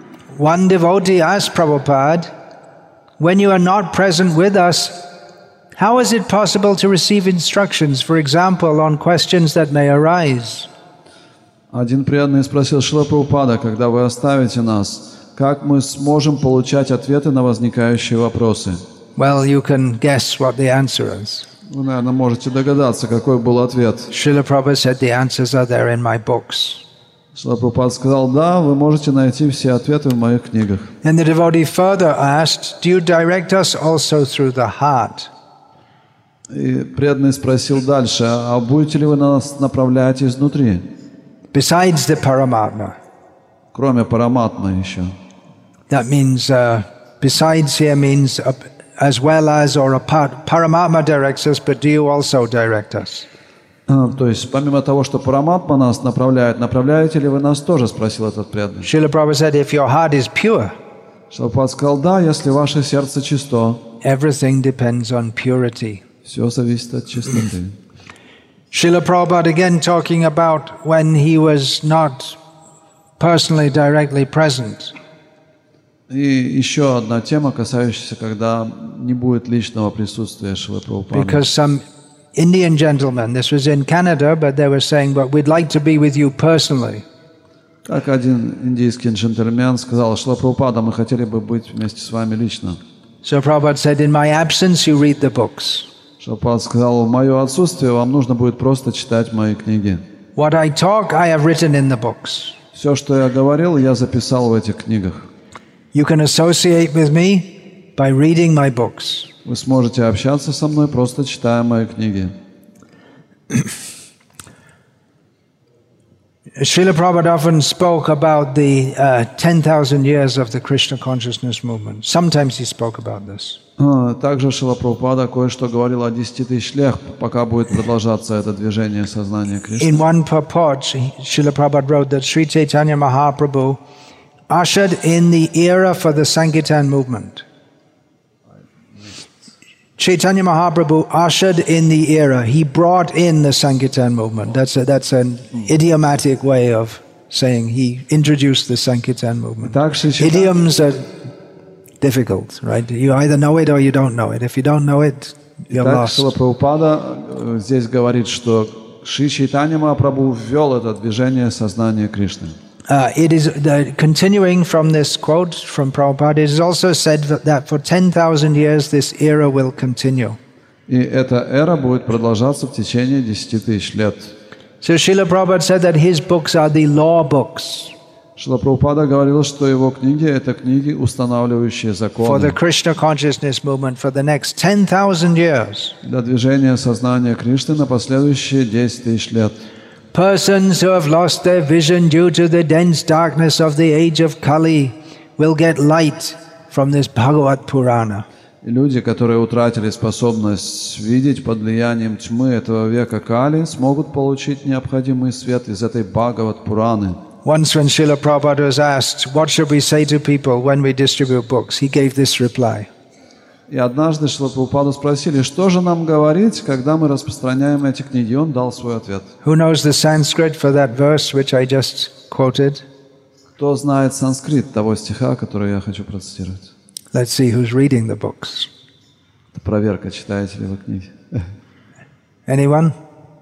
Speaker 1: One devotee asked Prabhupada, when you are not present with us, How is it possible to receive instructions, for example, on questions that may arise?
Speaker 2: Один преданный спросил Шрила Прабхупада: когда вы оставите нас, как мы сможем получать ответы на возникающие вопросы?
Speaker 1: Well, you can guess what the answer is.
Speaker 2: Вы, наверное, можете догадаться, какой был ответ.
Speaker 1: Srila Prabhupada said the answers are there in my books.
Speaker 2: Шрила Прабхупада сказал: да, вы можете найти все ответы в моих книгах.
Speaker 1: And the devotee further asked, do you direct us also through the heart?
Speaker 2: И преданный спросил дальше: а будете ли вы нас направлять изнутри?
Speaker 1: Besides the Paramatma.
Speaker 2: Кроме Параматмы еще.
Speaker 1: That means, uh, besides here means uh, as well as or apart. Paramatma directs us, but do you also direct us?
Speaker 2: А, то есть, помимо того, что Параматма нас направляет, направляете ли вы нас тоже, спросил этот преданный.
Speaker 1: Srila Prabhupada said, if your heart is pure,
Speaker 2: Шрила Прабхупада сказал: да, если ваше сердце чисто,
Speaker 1: everything depends on purity.
Speaker 2: все зависит от чистоты.
Speaker 1: Srila Prabhupada again talking about when he was not personally directly present.
Speaker 2: И еще одна тема, касающаяся, когда не будет личного присутствия Шрилы Прабхупады.
Speaker 1: Because some Indian gentlemen, this was in Canada, but they were saying, but we'd like to be with you personally.
Speaker 2: Как один индийский джентльмен сказал: Шрила Прабхупада, мы хотели бы быть вместе с вами лично.
Speaker 1: So Prabhupada said, in my absence you read the books.
Speaker 2: Шрила Прабхупада сказал: в мое отсутствие вам нужно будет просто читать мои книги.
Speaker 1: What I talk, I have written in the books.
Speaker 2: Все, что я говорил, я записал в этих книгах.
Speaker 1: You can associate with me by reading my books.
Speaker 2: Вы сможете общаться со мной, просто читая мои книги.
Speaker 1: Srila Prabhupada often spoke about the uh, ten thousand years of the Krishna consciousness movement. Sometimes he spoke about this.
Speaker 2: А, Также Шрила Прабхупада кое-что говорил о десяти тысяч лет, пока будет продолжаться это движение сознания Кришны.
Speaker 1: In one purport, Srila Prabhupada wrote that Sri Chaitanya Mahaprabhu ushered in the era for the Sankirtan movement. Chaitanya Mahaprabhu ushered in the era. He brought in the Sankirtan movement. That's a, that's an idiomatic way of saying he introduced the Sankirtan movement. Idioms are difficult, right? You either know it or you don't know it. If you don't know it, you're
Speaker 2: Так,
Speaker 1: lost.
Speaker 2: Шрила Прабхупада здесь говорит, что Шри Чайтанья Махапрабху ввел это движение сознания Кришны.
Speaker 1: Uh, it is the, continuing from this quote from Prabhupada. It is also said that, that for ten thousand years this era will continue.
Speaker 2: И эта эра будет продолжаться в течение десяти тысяч лет.
Speaker 1: So Srila Prabhupada said that his books are the law books.
Speaker 2: Шрила Прабхупада говорил, что его книги — это книги, устанавливающие
Speaker 1: For the
Speaker 2: законы
Speaker 1: Krishna consciousness movement for the next ten thousand years.
Speaker 2: для движения сознания Кришны на последующие десять тысяч лет.
Speaker 1: Persons who have lost their vision due to the dense darkness of the age of Kali will get light from this Bhagavad Purana.
Speaker 2: И люди, которые утратили способность видеть под влиянием тьмы этого века Кали, смогут получить необходимый свет из этой Бхагават Пураны.
Speaker 1: Once when Srila Prabhupada was asked, what should we say to people when we distribute books, he gave this reply.
Speaker 2: И однажды Шрила Прабхупаду спросили, что же нам говорить, когда мы распространяем эти книги. И он дал свой ответ.
Speaker 1: Who knows the Sanskrit for that verse which I just quoted?
Speaker 2: Кто знает санскрит того стиха, который я хочу процитировать?
Speaker 1: Let's see who's reading the books.
Speaker 2: Это проверка, читаете ли вы книги.
Speaker 1: Anyone?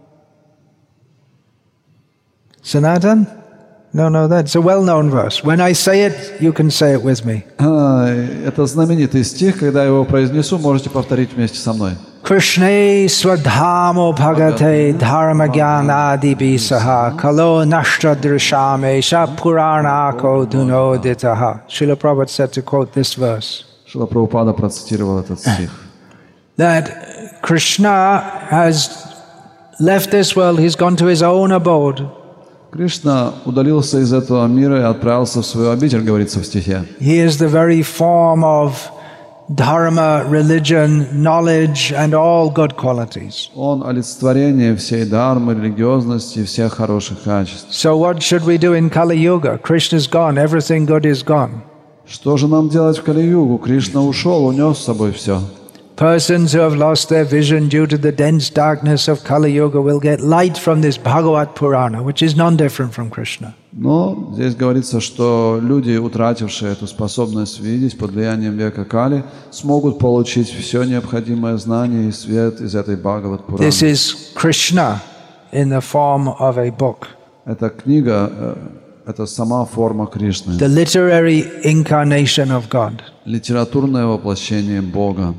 Speaker 1: Sanatan? No, no, that's a well-known verse. When I say it, you can say it with me.
Speaker 2: А, это знаменитый стих, когда я его произнесу, можете повторить вместе со мной.
Speaker 1: Krishne swadhamo bhagate dharmagyanadi bisaha kalo nashtra drishame sha puranako dunoditaha. Srila Prabhupada said to quote this verse.
Speaker 2: Шрила Прабхупада процитировал этот стих.
Speaker 1: That Krishna has left this world, he's gone to his own abode.
Speaker 2: Кришна удалился из этого мира и отправился в свою обитель, говорится в стихе.
Speaker 1: He is the very form of dharma, religion, knowledge and all good qualities.
Speaker 2: Он олицетворение всей дхармы, религиозности и всех хороших качеств.
Speaker 1: So what should we do in Kali Yuga? Krishna's gone, everything good is gone.
Speaker 2: Что же нам делать в Кали-югу? Кришна ушел, унес с собой все.
Speaker 1: Persons who have lost their vision due to the dense darkness of Kali Yuga will get light from this Bhagavad Purana, which is non-different from Krishna.
Speaker 2: Но здесь говорится, что люди, утратившие эту способность видеть под влиянием века Кали, смогут получить все необходимое знание и свет из этой Бхагават-пураны.
Speaker 1: This is Krishna in the form of a book.
Speaker 2: Эта книга э, — это сама форма Кришны,
Speaker 1: The literary incarnation of God.
Speaker 2: литературное воплощение Бога.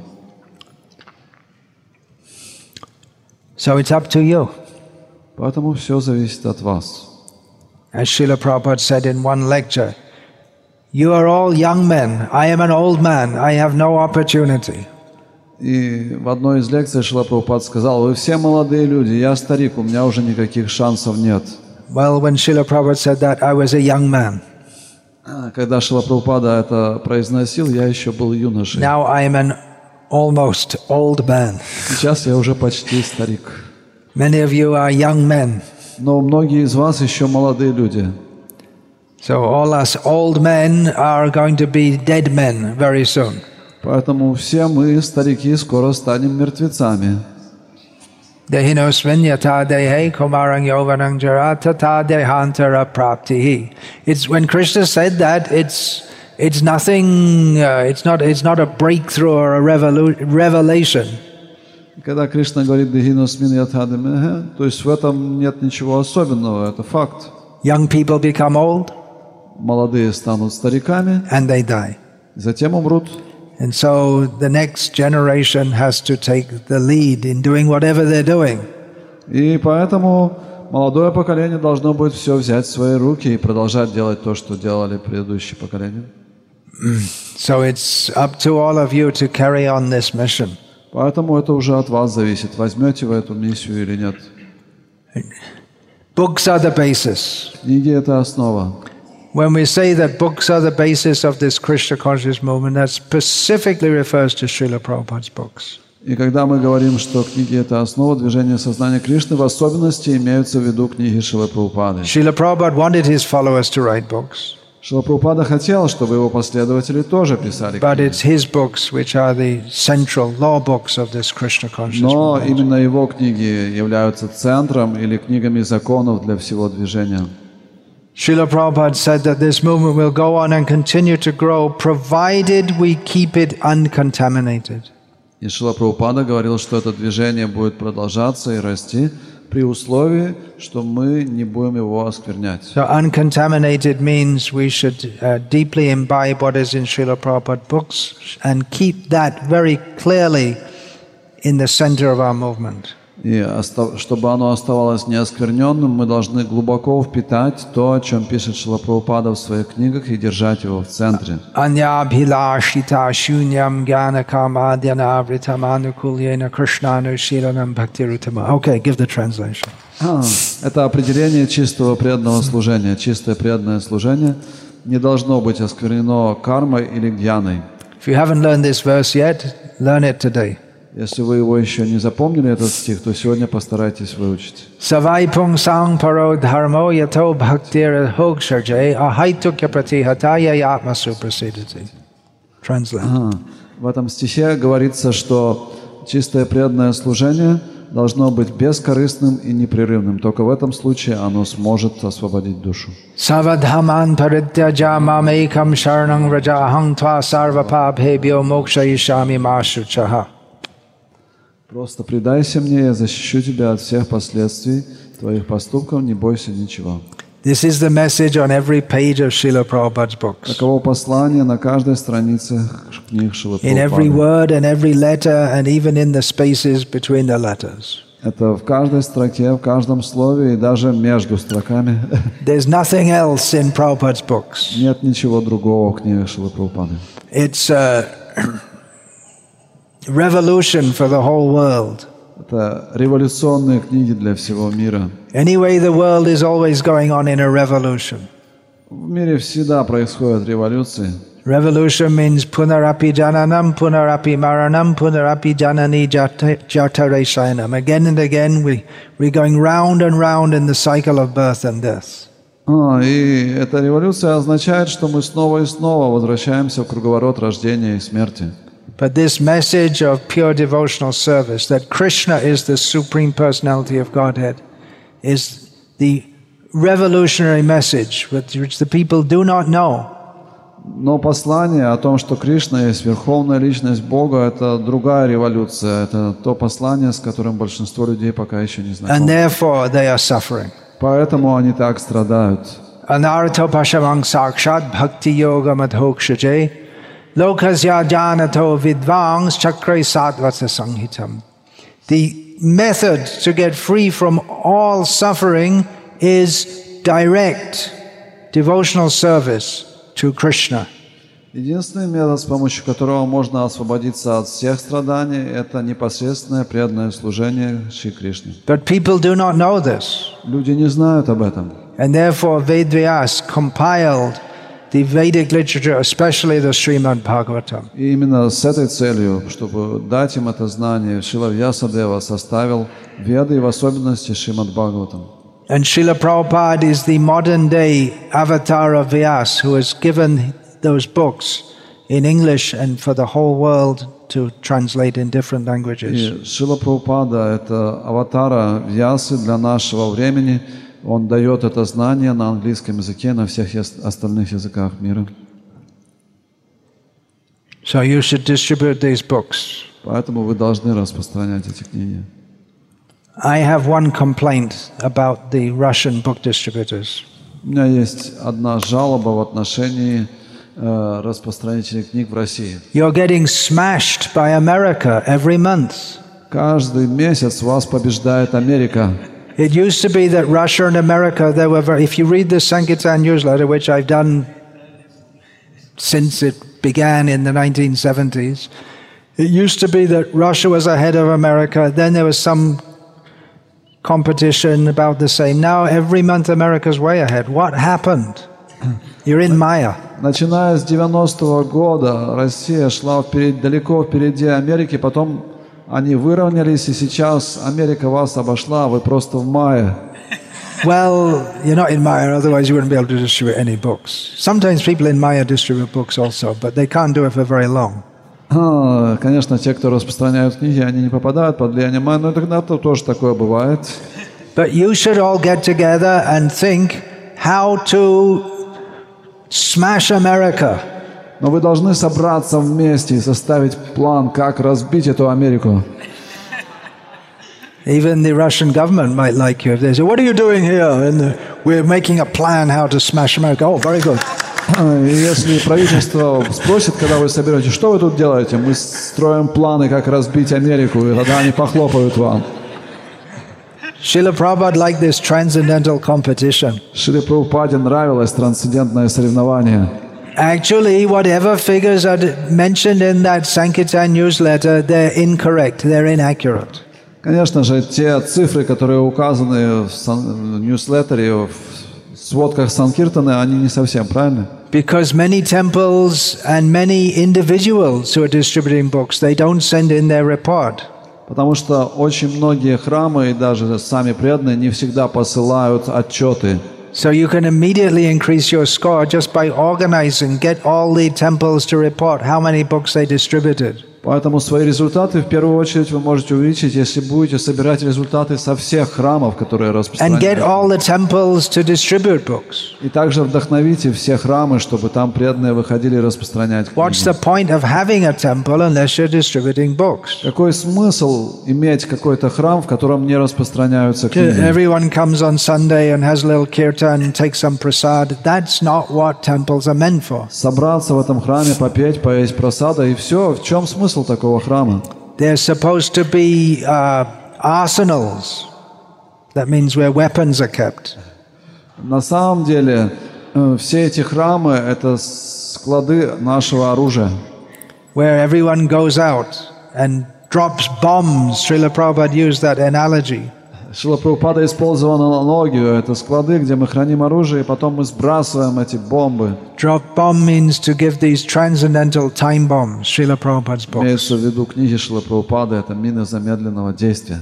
Speaker 1: So it's up to you.
Speaker 2: Поэтому все зависит от вас.
Speaker 1: As Srila Prabhupada said in one lecture, you are all young men. I am an old man. I have no opportunity.
Speaker 2: И в одной из лекций Шрила Прабхупад сказал: вы все молодые люди, я старик, у меня уже никаких шансов нет.
Speaker 1: Well, when Srila Prabhupada said that, I was a young man.
Speaker 2: Когда Шрила Прабхупада это произносил, я еще был юношей.
Speaker 1: Now I am an almost old man.
Speaker 2: Сейчас я уже почти старик.
Speaker 1: Many of you are young men.
Speaker 2: Но многие из вас еще молодые люди.
Speaker 1: So all us old men are going to be dead men very soon.
Speaker 2: Поэтому все мы, старики, скоро станем мертвецами.
Speaker 1: Dehinosvinyata dehe kumarang yovanang jaratata dehantara praptihi. It's when Krishna said that, it's it's nothing. Uh, it's not. It's not a breakthrough or a revolu- revelation.
Speaker 2: Когда Кришна говорит «Дехиносмин ятхадамеге», то есть в этом нет ничего особенного, это факт.
Speaker 1: Young people become old,
Speaker 2: Молодые станут стариками,
Speaker 1: and they die.
Speaker 2: затем умрут.
Speaker 1: And so the next generation has to take the lead in doing whatever they're doing.
Speaker 2: И поэтому молодое поколение должно будет все взять в свои руки и продолжать делать то, что делали предыдущие поколения.
Speaker 1: So it's up to all of you to carry on this mission.
Speaker 2: Поэтому это уже от вас зависит, возьмете вы эту миссию или нет.
Speaker 1: Books are the basis.
Speaker 2: Книги — это основа.
Speaker 1: When we say that books are the basis of this Krishna conscious movement, that specifically refers to Srila Prabhupada's books.
Speaker 2: И когда мы говорим, что книги — это основа движения сознания Кришны, в особенности имеются в виду книги Шрилы Прабхупады.
Speaker 1: Srila Prabhupada wanted his followers to write books.
Speaker 2: Шрила Прабхупада хотел, чтобы его последователи тоже писали
Speaker 1: But
Speaker 2: книги.
Speaker 1: it's his books which are the central law books of this Krishna conscious
Speaker 2: Но
Speaker 1: movement.
Speaker 2: именно его книги являются центром или книгами законов для всего движения.
Speaker 1: Srila Prabhupada said that this movement will go on and continue to grow provided we keep it uncontaminated.
Speaker 2: И Шрила Прабхупада говорил, что это движение будет продолжаться и расти при условии, что мы не будем его осквернять.
Speaker 1: So uncontaminated means we should uh, deeply imbibe what is in Srila Prabhupada books and keep that very clearly in the center of our movement.
Speaker 2: И остав... чтобы оно оставалось неоскверненным, мы должны глубоко впитать то, о чем пишет Шрила Прабхупада в своих книгах, и держать его в центре.
Speaker 1: Anyabhilashita shunyam jnana kamadhyana vritam anukulyena krishnanushilanam bhaktirutama. Okay, give the translation.
Speaker 2: А, это определение чистого преданного служения. Чистое преданное служение не должно быть осквернено кармой или гьяной.
Speaker 1: If you haven't learned this verse yet, learn it today.
Speaker 2: Если вы его еще не запомнили, этот стих, то сегодня постарайтесь выучить.
Speaker 1: Savai pung sang paro dharmo yato bhaktir hog sharjay ahaitukya pratihataya yatma suprasidati. Translate.
Speaker 2: Ага. В этом стихе говорится, что чистое преданное служение должно быть бескорыстным и непрерывным. Только в этом случае оно сможет освободить душу.
Speaker 1: Savadhaman parityaja mamekam sharanang rajahang tva sarvapabhebhyo mokshayishami mashuchaha.
Speaker 2: Просто предайся мне, я защищу тебя от всех последствий твоих поступков, не бойся ничего.
Speaker 1: This is the message on every page of Srila Prabhupada's books.
Speaker 2: Таково послание на каждой странице книг Шрилы
Speaker 1: In every
Speaker 2: Прабхупады.
Speaker 1: word and every letter and even in the spaces between the letters.
Speaker 2: Это в каждой строке, в каждом слове и даже между строками.
Speaker 1: There's nothing else in Prabhupada's books.
Speaker 2: Нет ничего другого в книгах Шрилы Прабхупады.
Speaker 1: It's a revolution for the whole world.
Speaker 2: Это революционные книги для всего мира.
Speaker 1: Anyway, the world is always going on in a revolution.
Speaker 2: В мире всегда происходят революции.
Speaker 1: Revolution means punarapi jananam, punarapi maranam, punarapi janani jatare shayanam. Again and again, we, we're going round and round in the cycle of birth and death.
Speaker 2: А, и эта революция означает, что мы снова и снова возвращаемся в круговорот рождения и смерти.
Speaker 1: But this message of pure devotional service, that Krishna is the Supreme Personality of Godhead, is the revolutionary message which, which the people do not know.
Speaker 2: Но послание о том, что Кришна есть верховная личность Бога, это другая революция. Это то послание, с которым большинство людей пока еще не
Speaker 1: And
Speaker 2: знакомы.
Speaker 1: therefore they are suffering.
Speaker 2: Поэтому они так страдают.
Speaker 1: Anartho pashamang sakshat bhakti yoga madhokshaje lokasya janato vidvangs chakre satvasa sanghitam. The method to get free from all suffering is direct devotional service to Krishna.
Speaker 2: Единственный метод, с помощью которого можно освободиться от всех страданий, это непосредственное преданное служение Шри Кришне.
Speaker 1: But people do not know this.
Speaker 2: Люди не знают об этом.
Speaker 1: And therefore Vedvyas compiled the Vedic literature, especially the Srimad Bhagavatam.
Speaker 2: И именно с этой целью, чтобы дать им это знание, Шрила Вьясадева составил Веды, и в особенности Шримад Бхагаватам.
Speaker 1: And Srila Prabhupada is the modern day avatar of Vyas, who has given those books in English and for the whole world to translate in different languages.
Speaker 2: И Шрила Прабхупада — это аватара Вьясы для нашего времени. Он дает это знание на английском языке, на всех остальных языках мира.
Speaker 1: So you should distribute these books.
Speaker 2: Поэтому вы должны распространять эти книги.
Speaker 1: I have one complaint about the Russian book distributors.
Speaker 2: У меня есть одна жалоба в отношении э, распространителей книг в России.
Speaker 1: You're getting smashed by America every month.
Speaker 2: Каждый месяц вас побеждает Америка.
Speaker 1: It used to be that Russia and America, they were very, if you read the Sankirtan newsletter, which I've done since it began in the nineteen seventies, it used to be that Russia was ahead of America, then there was some competition about the same. Now every month America's way ahead. What happened? You're in Maya.
Speaker 2: Начиная с девяностого года Россия шла вперед, далеко впереди Америки, потом они выровнялись, и сейчас Америка вас обошла, вы просто в мае.
Speaker 1: Well, you're not in Maya, otherwise you wouldn't be able to distribute any books. Sometimes people in Maya distribute books also, but they can't do it for very long.
Speaker 2: А, конечно, те, кто распространяют книги, они не попадают под влияние майя, но тогда -то тоже такое бывает.
Speaker 1: But you should all get together and think how to smash America.
Speaker 2: Но вы должны собраться вместе и составить план, как разбить эту Америку.
Speaker 1: Even the Russian government might like you if they say, "What are you doing here?" And uh, we're making a plan how to smash America. Oh, very good.
Speaker 2: И если правительство спросит, когда вы соберетесь, что вы тут делаете, мы строим планы, как разбить Америку, и тогда они похлопают вам.
Speaker 1: Srila Prabhupada liked this transcendental competition.
Speaker 2: Шриле Прабхупаде нравилось трансцендентное соревнование.
Speaker 1: Actually, whatever figures are mentioned in that Sankirtan newsletter, they're incorrect, they're inaccurate.
Speaker 2: Конечно же, те цифры, которые указаны в, сан... в ньюслеттере, в сводках Санкиртаны, они не совсем правильны.
Speaker 1: Because many temples and many individuals who are distributing books, they don't send in their report.
Speaker 2: Потому что очень многие храмы и даже сами преданные не всегда посылают отчеты.
Speaker 1: So you can immediately increase your score just by organizing, get all the temples to report how many books they distributed.
Speaker 2: Поэтому свои результаты в первую очередь вы можете увеличить, если будете собирать результаты со всех храмов, которые распространяют.
Speaker 1: And get all the temples to distribute books.
Speaker 2: И также вдохновите все храмы, чтобы там преданные выходили распространять книги.
Speaker 1: What's the point of having a temple unless you're distributing books?
Speaker 2: Какой смысл иметь какой-то храм, в котором не распространяются книги?
Speaker 1: Everyone comes on Sunday and has a little kirtan and takes some prasad. That's not what temples are meant for.
Speaker 2: Собраться в этом храме, попеть, поесть прасада, и все. В чем смысл такого храма?
Speaker 1: They're supposed to be uh, arsenals. That means where weapons are kept.
Speaker 2: На самом деле, э, все эти храмы — это склады нашего оружия.
Speaker 1: Where everyone goes out and drops bombs. Srila Prabhupada used that analogy.
Speaker 2: Шрила Прабхупада использовал аналогию. Это склады, где мы храним оружие, и потом мы сбрасываем эти бомбы.
Speaker 1: Drop bomb means to give these transcendental time bombs. Srila Prabhupada's books.
Speaker 2: Имеется в виду книги Шрилы Прабхупады, это мины замедленного действия.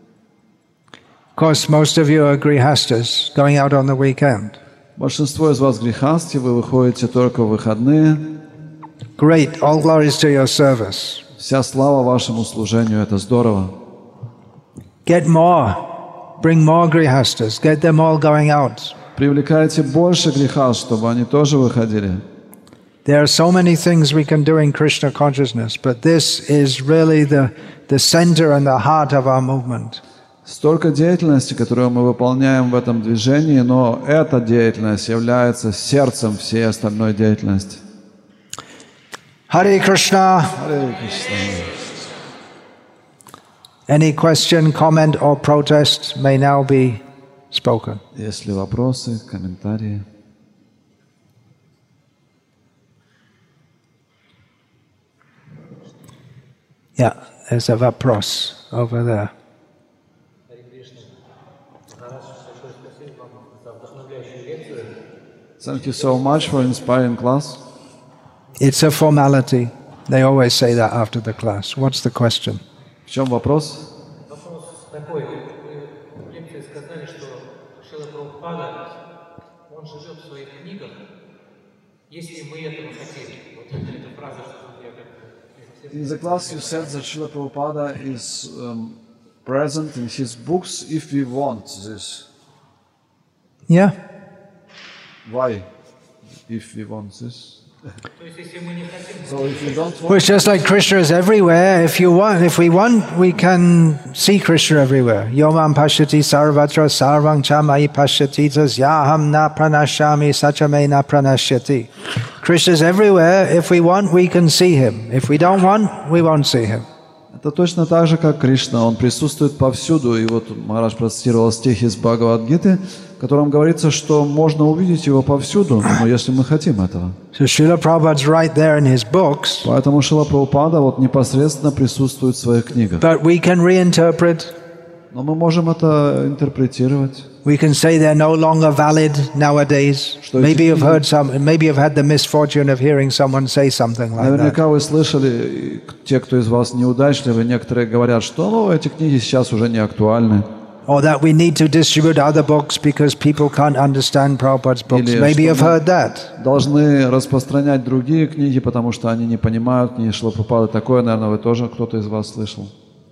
Speaker 1: Of course, most of you are grihastas going out on the weekend.
Speaker 2: Большинство из вас грехасти, вы выходите только в выходные.
Speaker 1: Great, all glories to your service.
Speaker 2: Вся слава вашему служению, это здорово.
Speaker 1: Get more. bring more grihastas, get them all going out.
Speaker 2: Привлекайте больше греха, чтобы они тоже выходили.
Speaker 1: There are so many things we can do in Krishna consciousness, but this is really the, the center and the heart of our movement.
Speaker 2: Столько деятельности, которую мы выполняем в этом движении, но эта деятельность является сердцем всей остальной деятельности.
Speaker 1: Hare Krishna.
Speaker 2: Hare Krishna.
Speaker 1: Any question, comment or protest may now be spoken.
Speaker 2: Есть ли вопросы, комментарии?
Speaker 1: Yeah, there's a вопрос over there.
Speaker 2: Thank you so much for inspiring class.
Speaker 1: It's a formality. They always say that after the class. What's the question?
Speaker 2: В чем вопрос?
Speaker 3: Вопрос такой. Вы в лекции сказали, что Шрила Прабхупада, он живет в своих книгах, если мы этого хотим. Вот эта фраза, что я как...
Speaker 2: In the class you said that Srila Prabhupada is um, present in his books if we want this.
Speaker 1: Yeah.
Speaker 2: Why? If we want this?
Speaker 3: То есть, если мы не хотим...
Speaker 2: So if you don't
Speaker 1: Well,
Speaker 2: want,
Speaker 1: it's just like Krishna is everywhere. If you want, if we want, we can see Krishna everywhere. Yomam pashyati sarvatra sarvang chamai pashyati tasyaham na pranashyami sachame na pranashyati. Krishna is everywhere. If we want, we can see him. If we don't want, we won't see him.
Speaker 2: это точно так же, как Кришна. Он присутствует повсюду. И вот Махарадж процитировал стих из Бхагавад-гиты, в котором говорится, что можно увидеть его повсюду, но если мы хотим этого.
Speaker 1: So Srila Prabhupada's right there in his books.
Speaker 2: Поэтому Шрила Прабхупада вот непосредственно присутствует в своих книгах.
Speaker 1: But we can reinterpret.
Speaker 2: Но мы можем это интерпретировать.
Speaker 1: We can say they're no longer valid nowadays. Maybe you've heard some, maybe you've had the misfortune of hearing someone say something like that.
Speaker 2: Наверняка вы слышали, те, кто из вас неудачливы, некоторые говорят, что ну, эти книги сейчас уже не актуальны.
Speaker 1: Or that we need to distribute other books because people can't understand Prabhupada's books.
Speaker 2: Или
Speaker 1: Maybe
Speaker 2: что
Speaker 1: you've
Speaker 2: мы
Speaker 1: heard that.
Speaker 2: должны распространять другие книги, потому что они не понимают книги Шрилы Прабхупады. Такое, наверное, вы тоже кто-то из вас слышал.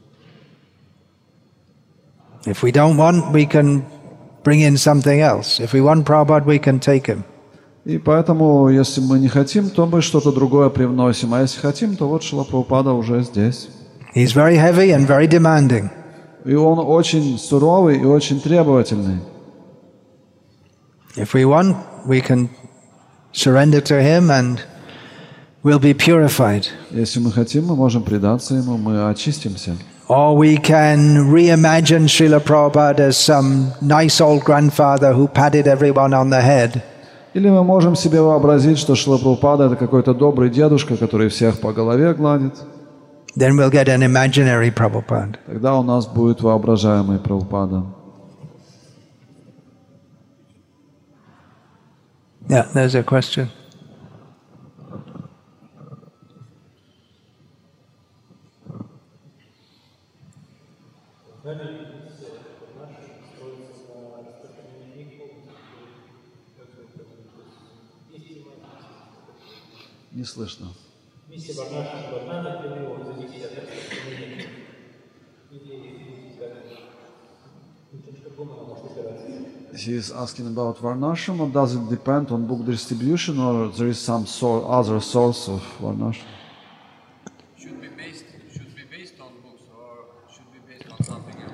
Speaker 1: If we don't want, we can bring in something else. If we want Prabhupada, we can take him.
Speaker 2: И поэтому, если мы не хотим, то мы что-то другое привносим. А если хотим, то вот Шрила Прабхупада уже здесь.
Speaker 1: He's very heavy and very demanding.
Speaker 2: И он очень суровый и очень требовательный.
Speaker 1: If we want, we can surrender to him and we'll be purified.
Speaker 2: Если мы хотим, мы можем предаться ему, мы очистимся.
Speaker 1: Or we can reimagine Srila Prabhupada as some nice old grandfather who patted everyone on the head.
Speaker 2: Или мы можем себе вообразить, что Шрила Прабхупада — это какой-то добрый дедушка, который всех по голове гладит.
Speaker 1: Then we'll get an imaginary Prabhupada.
Speaker 2: Тогда у нас будет воображаемый Прабхупада.
Speaker 1: Yeah, there's a question.
Speaker 2: Не слышно.
Speaker 3: Миссия Варнаши привела за десять распространений или как она может опираться?
Speaker 2: He is asking about Varnashram, or does it depend on book distribution, or there is some sor- other source of Varnashram?
Speaker 4: Should be based should be based on books or should be based on something else?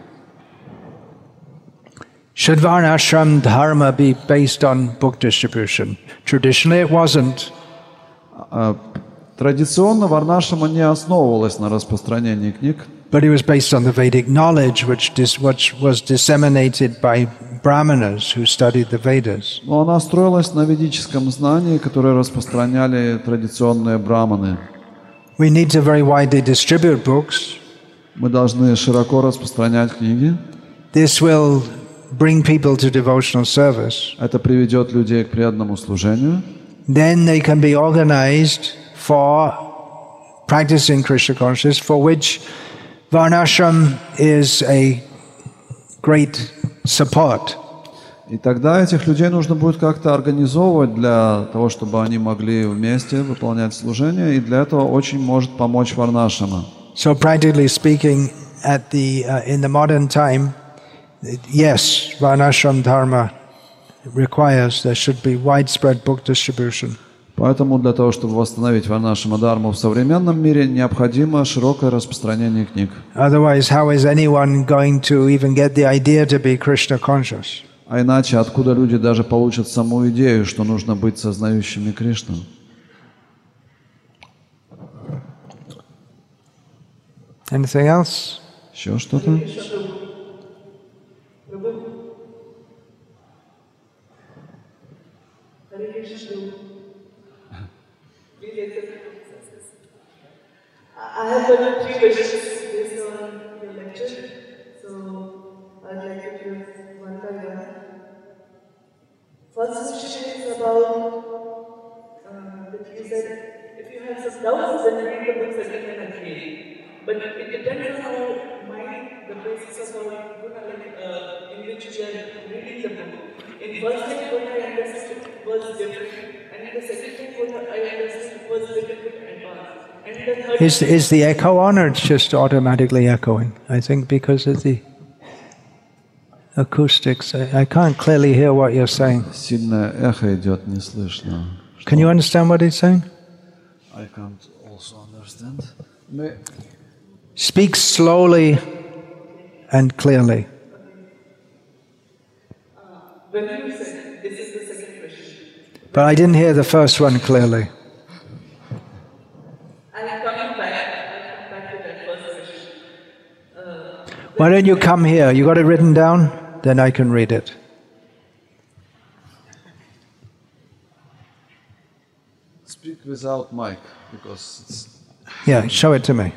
Speaker 1: Should Varnashram Dharma be based on book distribution? Traditionally it wasn't.
Speaker 2: Традиционно Варнашрама не основывалась на распространении книг,
Speaker 1: But it was based on the Vedic knowledge which, dis, which was disseminated by Brahmanas who studied the Vedas.
Speaker 2: но она строилась на ведическом знании, которое распространяли традиционные браманы.
Speaker 1: We need to very widely distribute books.
Speaker 2: Мы должны широко распространять книги.
Speaker 1: This will bring people to devotional service.
Speaker 2: Это приведет людей к преданному служению.
Speaker 1: Then they can be organized for practicing Krishna consciousness, for which Varnashram is a great support.
Speaker 2: И тогда этих людей нужно будет как-то организовывать для того, чтобы они могли вместе выполнять служение, и для этого очень может помочь Варнашрама.
Speaker 1: So practically speaking, at the uh, in the modern time, yes, Varnashram Dharma requires there should be widespread book distribution.
Speaker 2: Поэтому для того, чтобы восстановить варнашрама дхарму в современном мире, необходимо широкое распространение книг.
Speaker 1: Otherwise, how is anyone going to even get the idea to be Krishna conscious?
Speaker 2: А иначе откуда люди даже получат саму идею, что нужно быть сознающими Кришну?
Speaker 1: Anything else?
Speaker 2: Еще что-то?
Speaker 5: I have got three questions based on your lecture, so I'd like to give one by one. First question is about uh, that you said if you have some doubts, then read the books again and again. But it depends on our mind, the basis of our guna, like, uh, in which we are reading the book. In first time, what I understood was different, and in the second time, what I understood was a little bit advanced.
Speaker 1: Is, is the echo on, or it's just automatically echoing? I think because of the acoustics. I, I can't clearly hear what you're saying.
Speaker 2: Сильное эхо идет, не слышно.
Speaker 1: Can you understand what he's saying?
Speaker 2: I can't also understand. Мы...
Speaker 1: Speak slowly and clearly.
Speaker 5: When you said, this is the second question.
Speaker 1: But I didn't hear the first one clearly. Why don't you come here? You got it written down? Then I can read it.
Speaker 2: Speak without mic, because it's...
Speaker 1: Yeah, show it to me.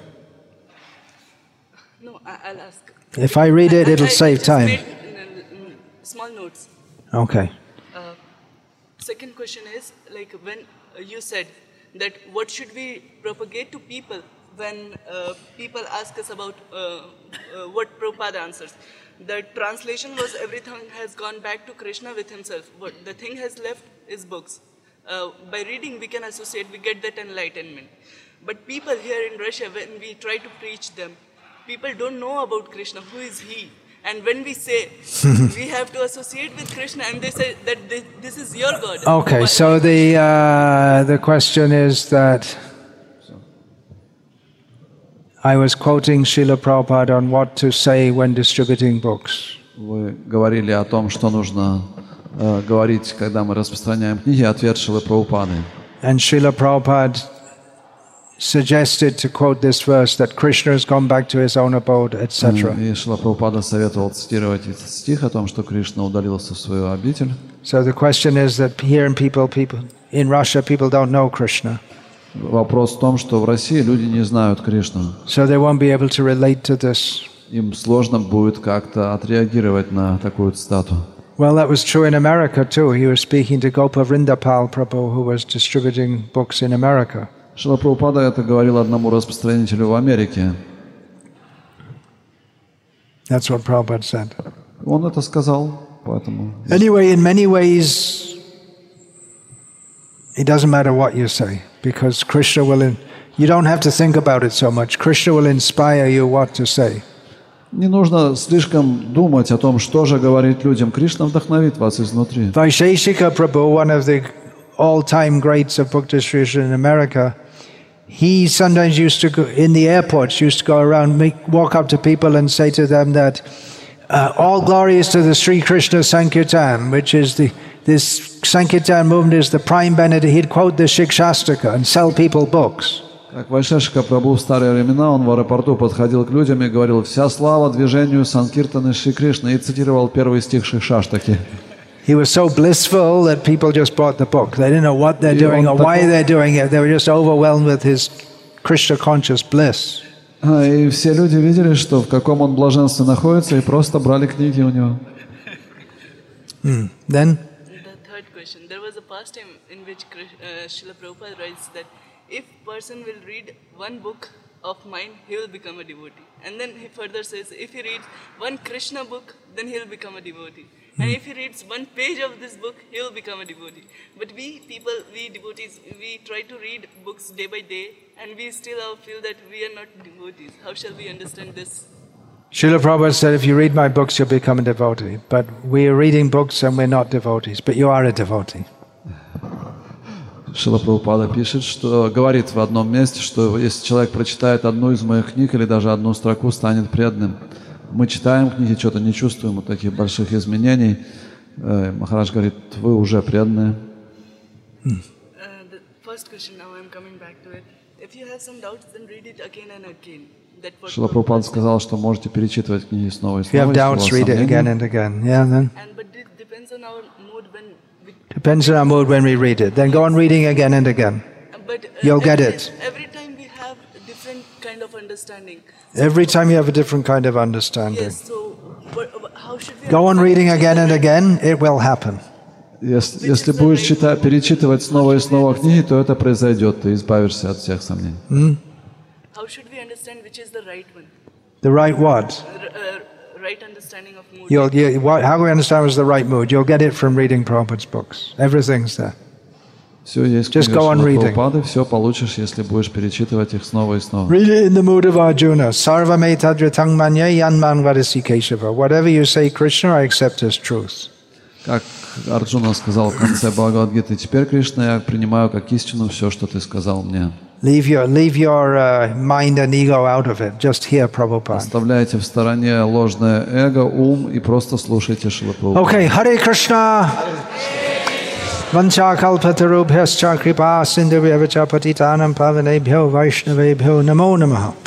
Speaker 6: No, I- I'll ask.
Speaker 1: If I read it,
Speaker 6: I-
Speaker 1: it'll
Speaker 6: I
Speaker 1: save
Speaker 6: just
Speaker 1: time.
Speaker 6: made, uh, mm, small notes.
Speaker 1: Okay.
Speaker 6: Uh, second question is, like when uh, you said that what should we propagate to people when uh, people ask us about uh, uh, what Prabhupada answers. The translation was everything has gone back to Krishna with himself. What the thing has left is books. Uh, by reading we can associate, we get that enlightenment. But people here in Russia, when we try to preach them, people don't know about Krishna, who is he? And when we say, we have to associate with Krishna, and they say that this, this is your God.
Speaker 1: Okay, so the, uh, the question is that I was quoting Srila Prabhupada on what to say when distributing books.
Speaker 2: Вы говорили о том, что нужно э, говорить, когда мы распространяем книги, ответ Шрилы Прабхупады.
Speaker 1: And Srila Prabhupada suggested to quote this verse that Krishna has gone back to his own abode, et cetera.
Speaker 2: И Шрила Прабхупада советовал цитировать этот стих о том, что Кришна удалился в свою обитель.
Speaker 1: So the question is that here in people, people in Russia, people don't know Krishna.
Speaker 2: Вопрос в том, что в России люди не знают Кришну.
Speaker 1: So they won't be able to relate to this.
Speaker 2: Им сложно будет как-то отреагировать на такую цитату.
Speaker 1: Well, that was true in America too. He was speaking to Gopa Vrindapal Prabhu, who was distributing books in America.
Speaker 2: Шрила Прабхупада это говорил одному распространителю в Америке.
Speaker 1: That's what Prabhupada said.
Speaker 2: Он это сказал, поэтому...
Speaker 1: Anyway, in many ways, it doesn't matter what you say, because Krishna will... In, you don't have to think about it so much. Krishna will inspire you what to say.
Speaker 2: Не нужно слишком думать о том, что же говорить людям. Кришна вдохновит вас изнутри.
Speaker 1: Vaisheshika Prabhu, one of the all-time greats of book distribution in America, he sometimes used to go in the airports, used to go around, make, walk up to people and say to them that uh, all glory is to the Sri Krishna Sankirtan, which is the this Sankirtan movement is the prime benefit. He'd quote the Shikshashtaka and sell people books.
Speaker 2: Как Вайшешика Прабху в старые времена, он в аэропорту подходил к людям и говорил: «Вся слава движению Санкиртаны Шри Кришны», и цитировал первый стих Шикшаштаки.
Speaker 1: He was so blissful that people just bought the book. They didn't know what they're doing or why they're doing it. They were just overwhelmed with his Krishna-conscious bliss.
Speaker 2: И все люди видели, что в каком он блаженстве находится, и просто брали книги у него.
Speaker 1: Hmm. Then?
Speaker 6: The third question. There was a past time in which uh, Srila Prabhupada writes that if person will read one book of mine, he will become a devotee. And then he further says, if he reads one Krishna book, then he will become a devotee. And if he reads one page of this book, he will become a devotee. But we people, we devotees, we try to read books day by day, and we still feel that we are not devotees. How shall we understand this?
Speaker 1: Srila Prabhupada said, if you read my books, you'll become a devotee. But we are reading books and we're not devotees. But you are a devotee.
Speaker 2: Шрила Прабхупада пишет, что говорит в одном месте, что если человек прочитает одну из моих книг или даже одну строку, станет преданным. Мы читаем книги, что-то не чувствуем вот таких больших изменений. Махарадж говорит, вы уже преданные.
Speaker 6: Uh, the first question, now I'm coming back to it. If you have some doubts, then read it again and again. That what
Speaker 2: Шрила Прабхупада сказал, что можете перечитывать книги снова и
Speaker 1: If you
Speaker 2: снова.
Speaker 1: have doubts, read it again and again. Yeah, then
Speaker 6: And but it depends on our mood when we.
Speaker 1: depends on our mood when we read it. Then go on reading again and again.
Speaker 6: But uh,
Speaker 1: You'll get
Speaker 6: every,
Speaker 1: it.
Speaker 6: Every time we have a different kind of understanding.
Speaker 1: Every time you have a different kind of understanding.
Speaker 6: Yes. So, what, how should we?
Speaker 1: Go on
Speaker 6: understand
Speaker 1: reading
Speaker 6: each
Speaker 1: again and
Speaker 6: other?
Speaker 1: again, it will happen.
Speaker 2: Если, если будешь читать, перечитывать снова и снова книги, то это произойдет, ты избавишься от всех сомнений.
Speaker 6: How should we understand which is the right one?
Speaker 1: The right what?
Speaker 6: R- uh, right understanding of mood.
Speaker 1: You'll, you, what, how we understand was the right mood? You'll get it from reading Prabhupada's books. Everything's there.
Speaker 2: Все есть
Speaker 1: Just go on
Speaker 2: книга
Speaker 1: reading.
Speaker 2: Прабхупады, все получишь, если будешь перечитывать их снова и снова.
Speaker 1: Read it in the mood of Arjuna. Sarva me tadritang manya yanman vadasi Keshava. Whatever you say, Krishna, I accept as truth.
Speaker 2: Как Арджуна сказал в конце Бхагавад-гиты, теперь, Кришна, я принимаю как истину все, что ты сказал мне.
Speaker 1: Leave your, leave your uh, mind and ego out of it. Just hear Prabhupada.
Speaker 2: Оставляйте в стороне ложное эго, ум и просто слушайте Шрила Прабхупаду.
Speaker 1: Okay, Hare Krishna. Vancha kalpatarubhyascha kripa sindhubhya patitanam pavanebhyo vaishnavebhyo namo namaha.